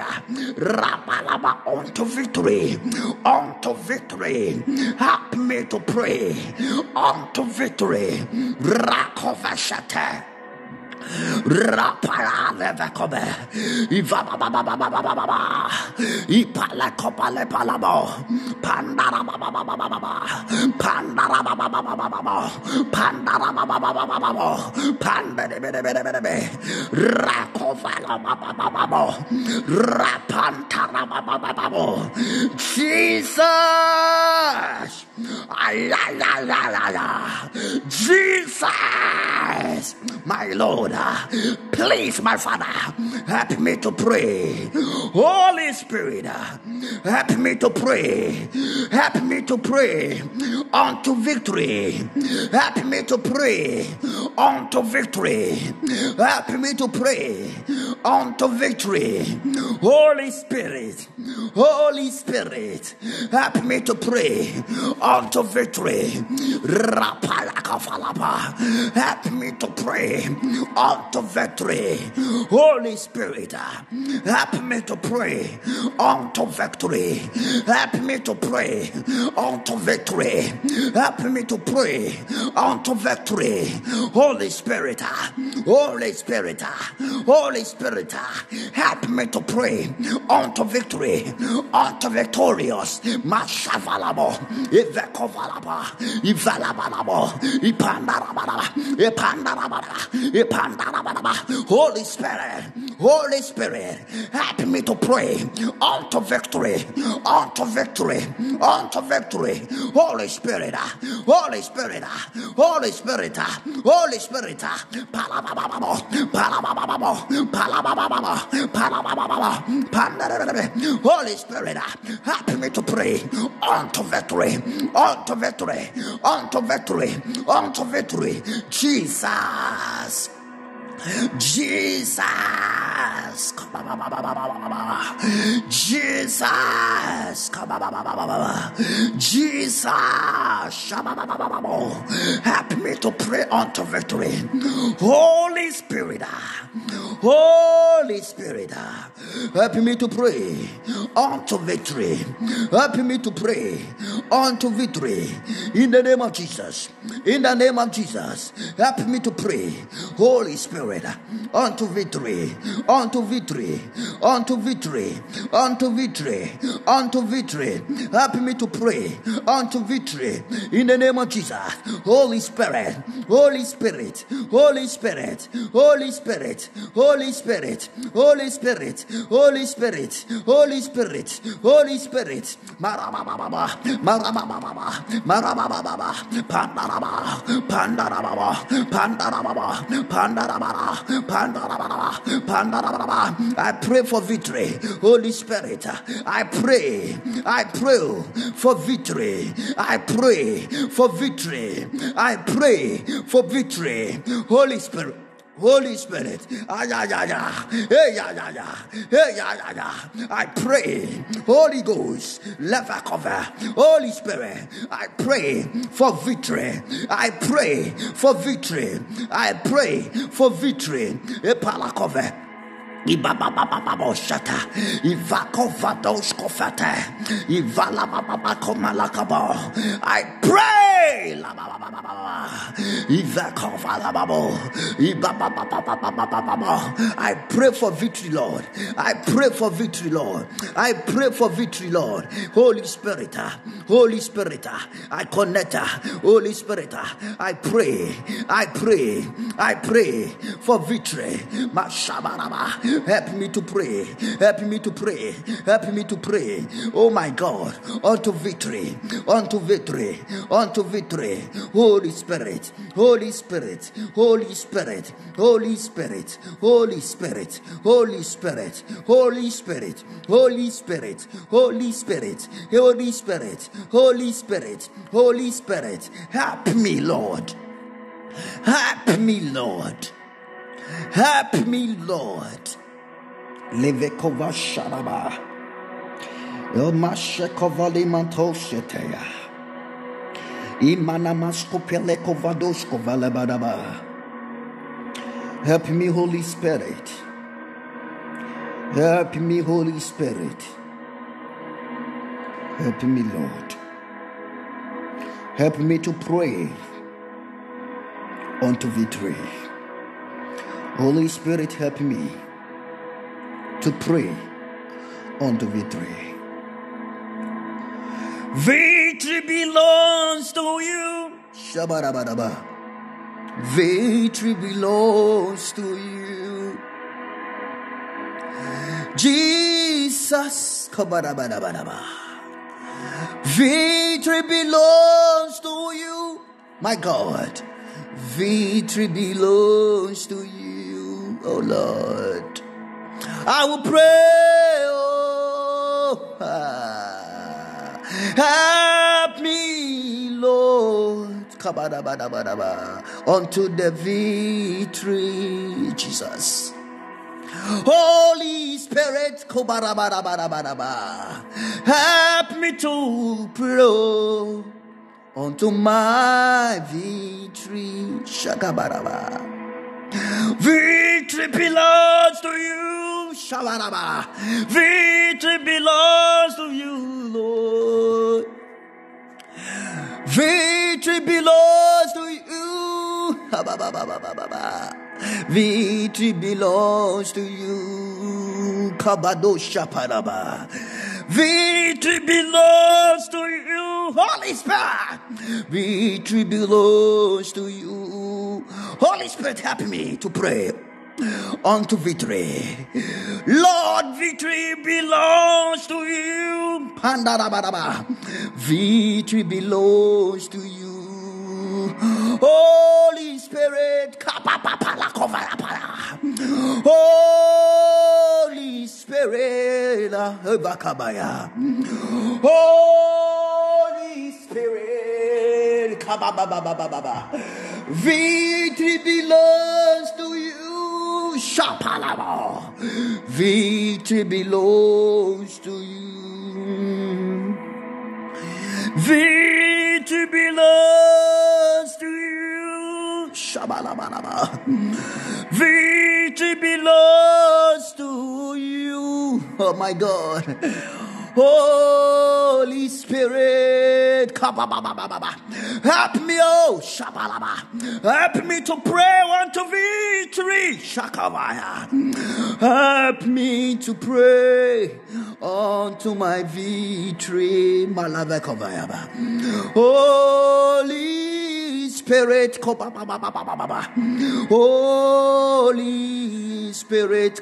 D: unto victory, unto victory. Help me to pray unto victory. Rakovashate. Rapara levekobe, Ivaba baba baba baba baba, Ipala kopale palabo, Pandara baba baba baba, Pandara baba baba baba, Pandara baba baba baba, Pandere bere bere bere bere, Rakovala baba baba, Rapantara baba baba, Jesus, Jesus, my Lord. Please, my Father, help me to pray. Holy Spirit, help me to pray. Help me to pray unto victory. Help me to pray unto victory. Help me to pray unto victory. Holy Spirit, Holy Spirit, help me to pray unto victory. Help me to pray unto victory. Holy Spirit, help me to pray unto victory. Help me to pray unto victory. Help me to pray unto victory. Holy Spirit, Holy Spirit, Holy Spirit, help me to pray unto victory, unto victorious. Mashavalabo, Ivekovalaba, Ivalabalabo, Ipandarababa, Ipandarababa, Ipandarababa. Holy Spirit, Holy Spirit, help me to pray unto victory, unto victory, unto victory. Holy Spirit, Holy Spirit, Holy Spirit, Holy Spirit, Palabababo, Palabababo, Palabababo, Palabababo, Palabababo. Holy Spirit, help me to pray unto victory, unto victory, unto victory, unto victory. Jesus. Jesus, Jesus, Jesus, help me to pray unto victory. Holy Spirit, Holy Spirit, help me to pray unto victory. Help me to pray unto victory in the name of Jesus. In the name of Jesus, help me to pray. Holy Spirit, unto victory, unto victory, unto victory, unto victory, unto victory. Help me to pray unto victory in the name of Jesus. Holy Spirit, Holy Spirit, Holy Spirit, Holy Spirit, Holy Spirit, Holy Spirit, Holy Spirit, Holy Spirit, Holy Spirit. Marababa, marababa, marababa, pandaraba, pandaraba, pandaraba, pandaraba, pandaraba, pandaraba. I pray for victory, Holy Spirit. I pray for victory. I pray for victory. I pray for victory. Holy Spirit. Holy Spirit, I pray, Holy Ghost, leva cover, Holy Spirit, I pray for victory. I pray for victory. I pray for victory. Epala cover. Ibababababashata, Ivakovadoskofata, Ivalabababako. I pray, I pray for victory, Lord. I pray for victory, Lord. I pray for victory, Lord. Holy Spirit, Holy Spirit, I connect. Holy Spirit, I pray for victory. Mashabaraba. Help me to pray. Help me to pray. Help me to pray. Oh my God. Unto victory. Unto victory. Unto victory. Holy Spirit. Holy Spirit. Holy Spirit. Holy Spirit. Holy Spirit. Holy Spirit. Holy Spirit. Holy Spirit. Holy Spirit. Holy Spirit. Holy Spirit. Holy Spirit. Help me, Lord. Help me, Lord. Help me, Lord. Levekova Sharaba. Elmashekova Limantoshetea. Imanamaskopelekovadoskova Lebadaba. Help me, Holy Spirit. Help me, Holy Spirit. Help me, Lord. Help me to pray unto victory. Holy Spirit, help me to pray unto victory. Victory belongs to you. Shabarabadaba. Victory belongs to you. Jesus. Kabarabadabadaba. Victory belongs to you. My God. Victory belongs to you, oh Lord. I will pray, help me, Lord, unto the victory, Jesus. Holy Spirit, help me to pray unto my victory. Shakabaraba. Victory belongs to you. Shabaraba. Victory belongs to you, Lord. Victory belongs to you. Victory belongs to you. Kabadosha Paraba. Victory belongs to you, Holy Spirit. Victory belongs to you. Holy Spirit, help me to pray unto victory. Lord, victory belongs to you. Pandarabadaba. Victory belongs to you. Holy Spirit, Holy Spirit, Holy Spirit, victory belongs to you. Shapalaba. Victory belongs to you. Victory belongs to you. Shabalabalaba. Victory belongs to you. Oh my God. Holy Spirit, help me, oh Shabalaba. Help me to pray unto victory. Shakavaya. Help me to pray unto my victory. Malavekovaya. Holy Spirit. Spirit, Holy Spirit,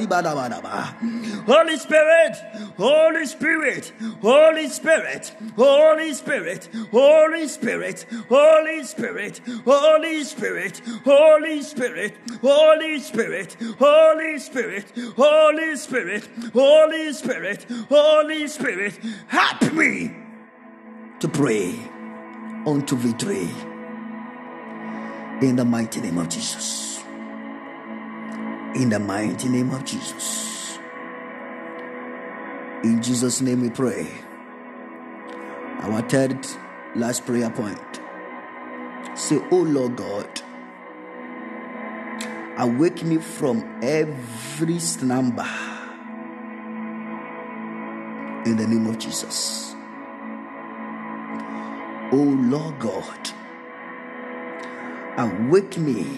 D: Holy Spirit, Holy Spirit, Holy Spirit, Holy Spirit, Holy Spirit, Holy Spirit, Holy Spirit, Holy Spirit, Holy Spirit, Holy Spirit, Holy Spirit, Holy Spirit, Holy Spirit, help me to pray unto victory in the mighty name of Jesus. In the mighty name of Jesus. In Jesus' name we pray. Our third last prayer point. Say, oh Lord God, awake me from every slumber in the name of Jesus. Oh Lord God, awake me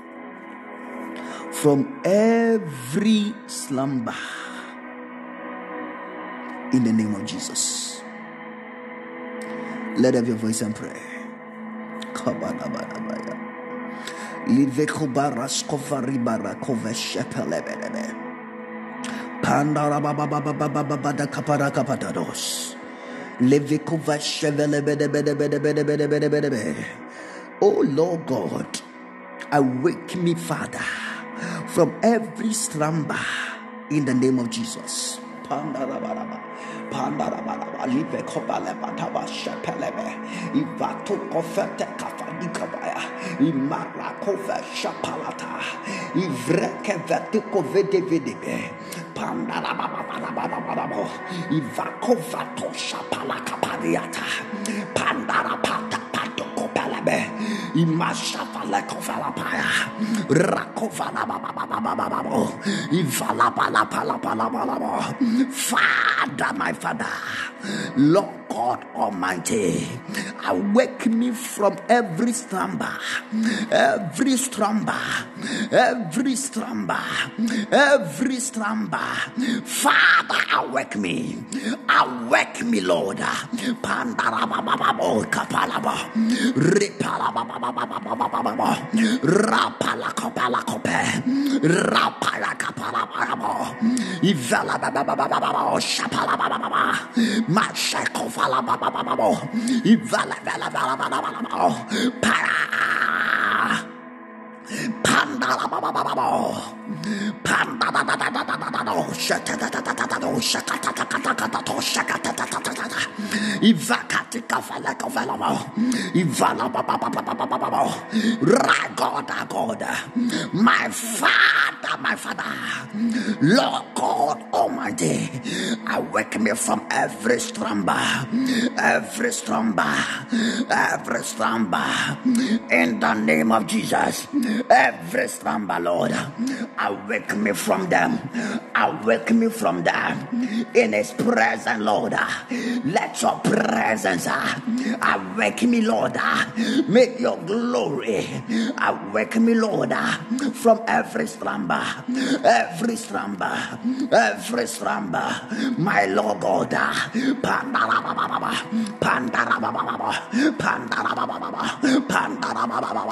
D: from every slumber in the name of Jesus. Let up your voice and pray. Oh Lord God, awake me, Father, from every slumber in the name of Jesus. Father, my Father, Lord God Almighty, awake me from every slumber, every slumber, every slumber, every slumber. Father, awake me, Lord. Pandarabababo kapalaba, ripalababababababa, rapalakopalakope, rapalakapalababo, ivalabababababo, shapalabababa, mashakovalabababo, ivalabababababo, para. Pandalababababo, pandalababababo, shakatatatatato, shakatatatatato, shakatatatata, ivakatikafalakavalamo, ivalabababababo. God, my Father, Lord God Almighty, awake me from every slumber, every slumber, every slumber, in the name of Jesus. Every slumber, Lord, awake me from them, awake me from them in His presence, Lord. Let your presence awake me, Lord. Make your glory awake me, Lord, from every slumber, every slumber, every slumber, my Lord God. Pandarababa, pandarababa, pandarababa, pandarababa,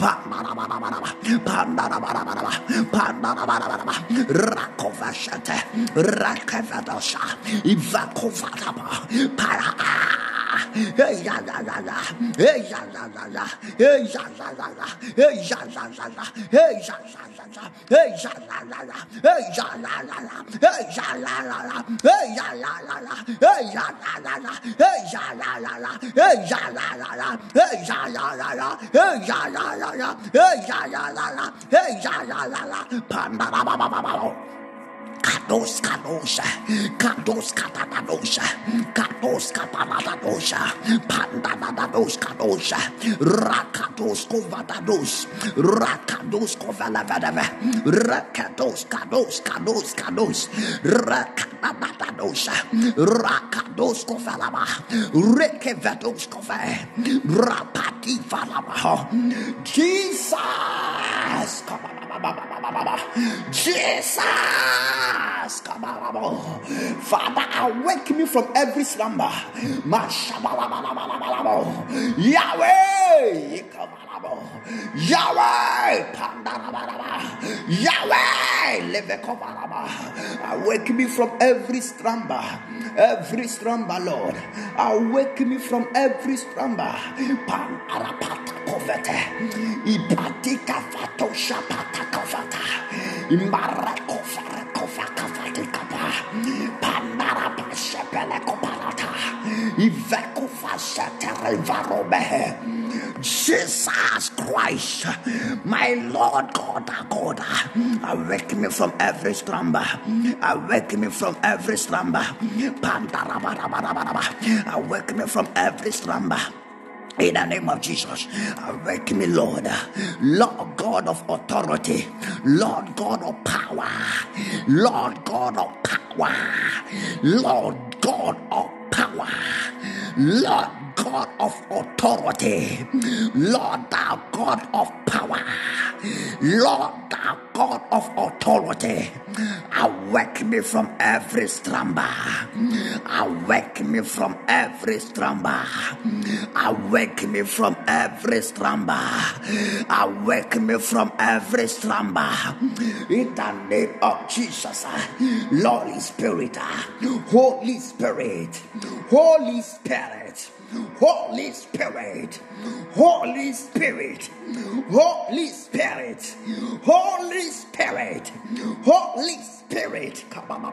D: pandarababa, pandarababa, rakovashate, rakavadosha, ivakovadaba, para. Hey ya la la la, hey ya la la la, hey ya la la la, hey ya la la la, hey ya la la la, hey ya la la la, hey ya la la la, hey ya la la la, hey ya la la la, hey ya la la la, hey ya la la la, hey ya la la la, hey ya la la la, hey ya la la la, hey ya la la la, hey ya la la la, pandara. Kados kadosha, kados katadosha, kados kapadadosha, pandadados kadosha, rakados kovadados, rakados kovalavadava, rakados kados, rakadadadosha, rakados kovalava, rekevados kove, rapati valava, Jesus, Jesus. Father, awake me from every slumber. Yahweh, Yahweh, Yahweh, awake me from every slumber, Lord. Awake me from every slumber. Ipatika fatosha patakavata, Imarakofara kofakafatikapa, Panarapa shepelekopalata, Ivekufashaterevarobe. Jesus Christ, my Lord God, awake me from every slumber. Awake me from every slumber. Awake me from every slumber. In the name of Jesus, awake me, Lord. Lord God of authority, Lord God of power, Lord God of power, Lord God of power, Lord God of authority, Lord thou God of power, Lord thou God of authority, awake me from every slumber. Awake me from every slumber. Awake me from every slumber. Awake me from every slumber. In the name of Jesus, Holy Spirit, Holy Spirit, Holy Spirit, Holy Spirit, Holy Spirit, Holy Spirit, Holy Spirit, Holy Spirit.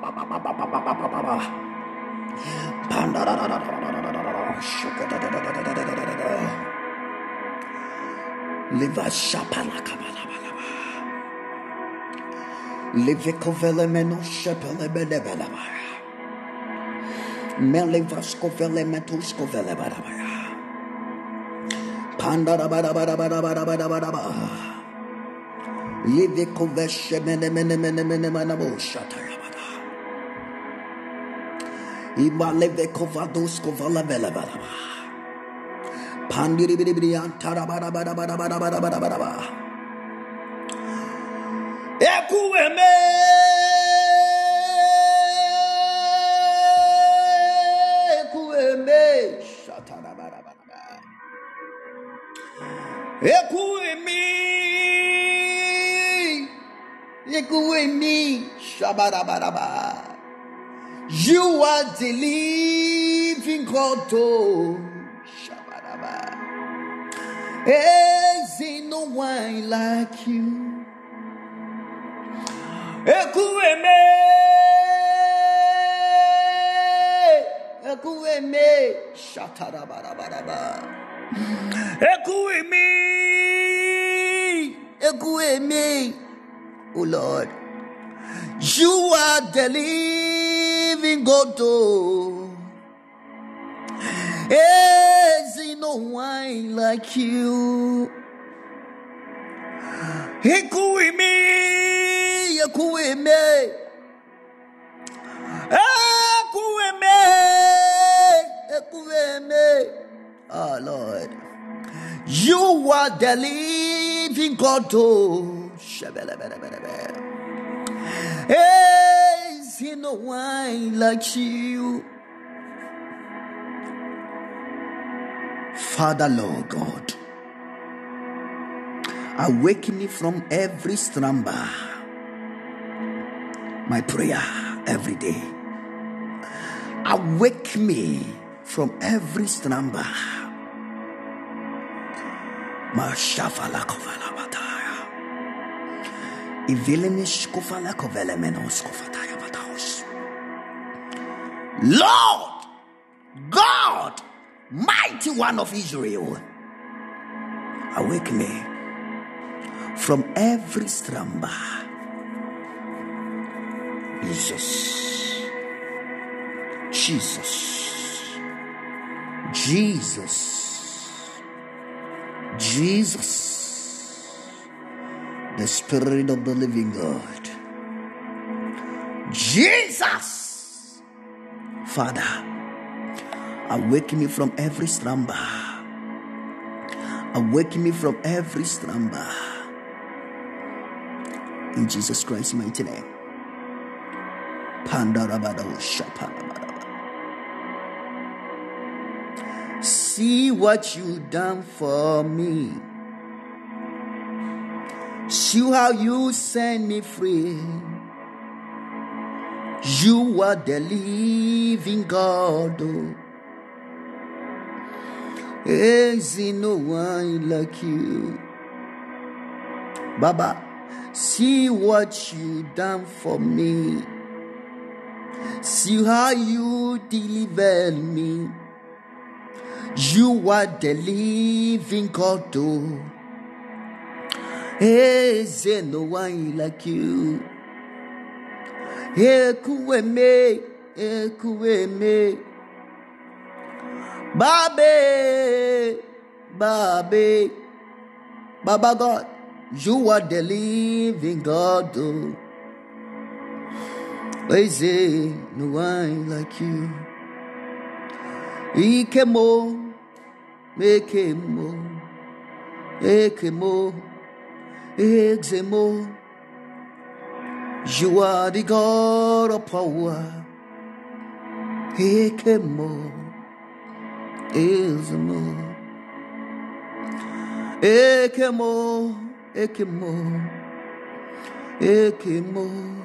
D: Live a shapala kabalabalaba. Live a covelemeno shapele bedebelaba. Melivasco velemetus covelebarabaya. Pandarabarabarabarabarabarabaraba. Live a coveshemenemenemenemenemanabo shatayabada. Iba live a covados covalabelabaraba. Pandiribrian tarabarabarabarabarabarabaraba. Ekueme. You are the living God. Is no one like you. Oh Lord, you are the living God. Is no one like you. Oh Lord, you are the living God. Is no one like you. Father, Lord God, awake me from every slumber. My prayer every day. Awake me from every slumber. Mashafala kovala bataya. Ivilemish kovala kovele menos kofataya bataos. Lord God, mighty one of Israel, awake me from every slumber. Jesus, Jesus, Jesus, Jesus, the Spirit of the living God. Jesus, Father, awake me from every slumber. Awake me from every slumber. In Jesus Christ's mighty name. See what you done for me. See how you set me free. You are the living God. Oh. Is no one like you. Baba, see what you done for me. See how you delivered me. You are the living God. Oh. Is no one like you. Ekuweme, ekuweme. Babe, Babe, Baba God, you are the living God. Oh. Is no one like you. Ikemo, ekemo, ekemo, exemo. You are the God of power. Ekemo. Exemo. Ekemo, ekemo, ekemo,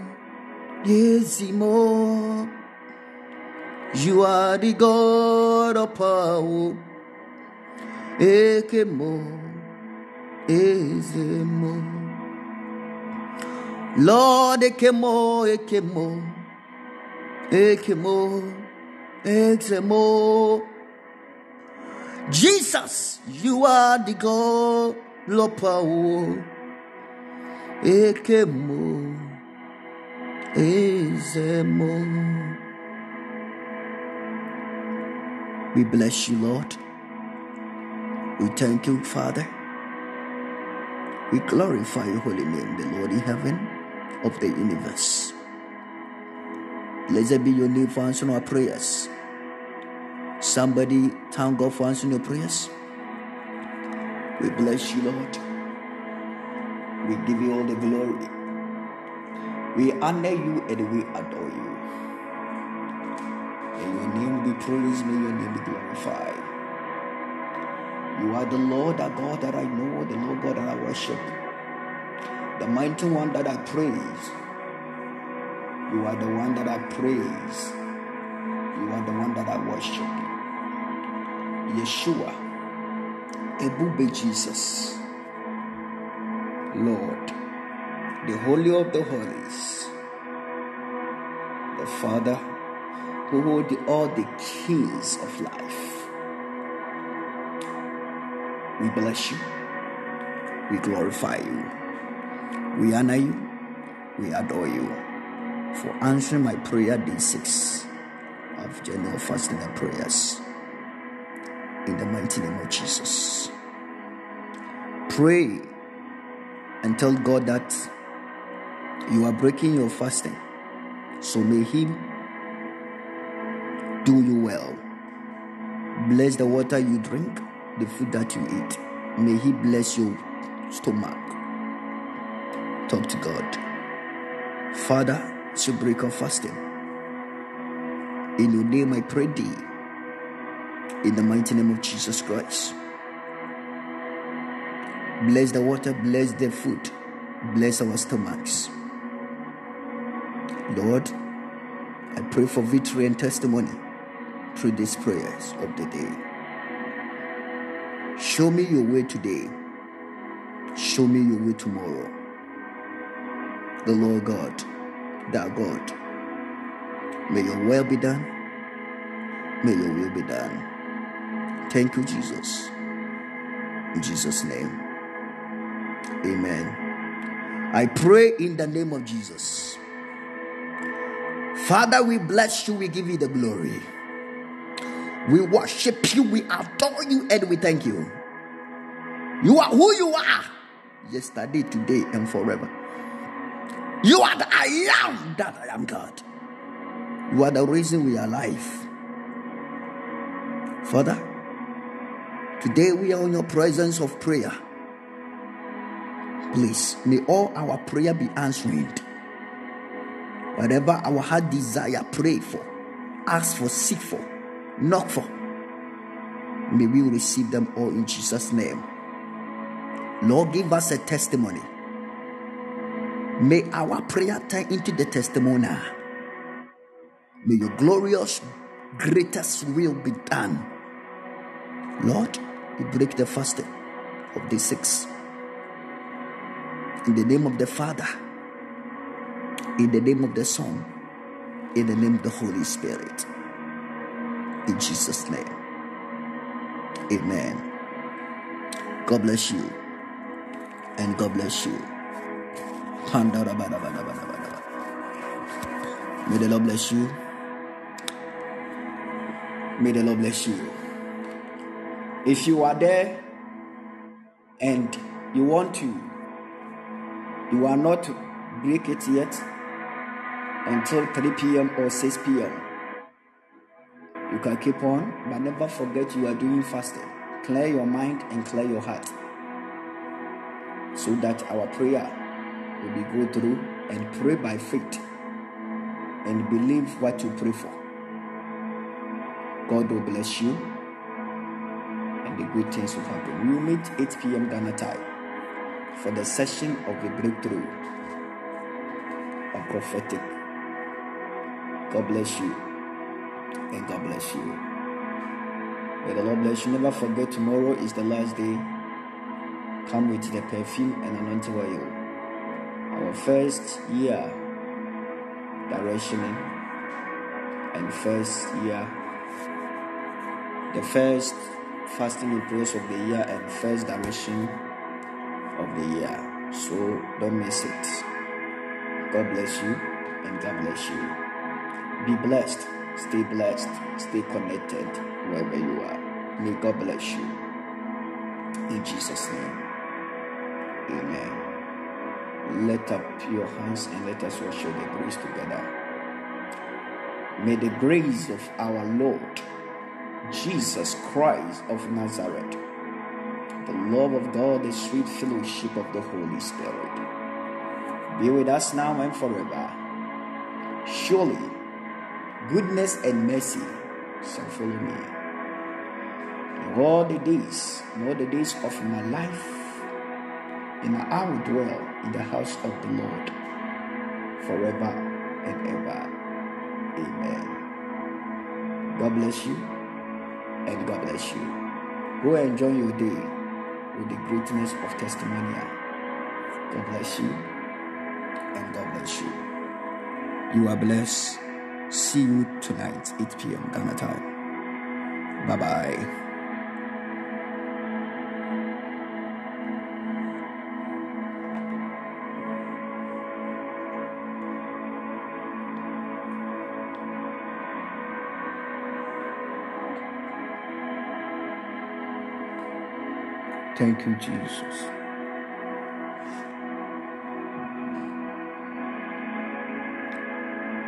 D: yezimo. You are the God of power. Ekemo, ezemo. Lord, ekemo, ekemo, ekemo, exemo. Jesus, you are the God of power. Ekemo, ezemo. We bless you, Lord. We thank you, Father. We glorify your holy name, the Lord in heaven of the universe. Blessed be your name for answering our prayers. Somebody thank God for answering your prayers. We bless you, Lord. We give you all the glory. We honor you and we adore you. May your name be praised, may your name be glorified. You are the Lord, our God that I know, the Lord God that I worship, the mighty one that I praise. You are the one that I praise. You are the one that I worship. Yeshua, Ebube Jesus, Lord, the Holy of the Holies, the Father who holds all the keys of life. We bless you. We glorify you. We honor you. We adore you for answering my prayer day 6 of general fasting and prayers. In the mighty name of Jesus. Pray and tell God that you are breaking your fasting. So may He do you well. Bless the water you drink, the food that you eat. May He bless your stomach. Talk to God. Father, it's your break of fasting. In your name I pray thee. In the mighty name of Jesus Christ. Bless the water, bless the food, bless our stomachs. Lord, I pray for victory and testimony through these prayers of the day. Show me your way today. Show me your way tomorrow. The Lord God, thou God, may your will be done. May your will be done. Thank you, Jesus. In Jesus' name. Amen. I pray in the name of Jesus. Father, we bless you. We give you the glory. We worship you. We adore you. And we thank you. You are who you are. Yesterday, today, and forever. You are the I am that I am God. You are the reason we are alive. Father, today we are in your presence of prayer. Please, may all our prayer be answered. Whatever our heart desire, pray for, ask for, seek for, knock for. May we receive them all in Jesus' name. Lord, give us a testimony. May our prayer turn into the testimony. May your glorious, greatest will be done. Lord, we break the fasting of day 6. In the name of the Father, in the name of the Son, in the name of the Holy Spirit. In Jesus' name. Amen. God bless you. And God bless you. May the Lord bless you. May the Lord bless you. If you are there and you are not break it yet until 3 p.m. or 6 p.m. You can keep on, but never forget you are doing fasting. Clear your mind and clear your heart, so that our prayer will be go through, and pray by faith and believe what you pray for. God will bless you and the good things will happen. We will meet 8 p.m. Ghana time for the session of the breakthrough of prophetic. God bless you and God bless you. May the Lord bless you. Never forget, tomorrow is the last day. Come with the perfume and anointing oil. Our first year directioning and the first fasting and prayers of the year and first direction of the year. So don't miss it. God bless you and God bless you. Be blessed, stay connected wherever you are. May God bless you. In Jesus' name. Amen. Lift up your hands and let us worship the grace together. May the grace of our Lord Jesus Christ of Nazareth, the love of God, the sweet fellowship of the Holy Spirit be with us now and forever. Surely goodness and mercy shall follow me all the days of my life, and I will dwell in the house of the Lord forever and ever. Amen. God bless you and God bless you. Go and enjoy your day with the greatness of testimonial. God bless you and God bless you. You are blessed. See you tonight, 8 p.m. Ghana time. Bye-bye. Thank you, Jesus.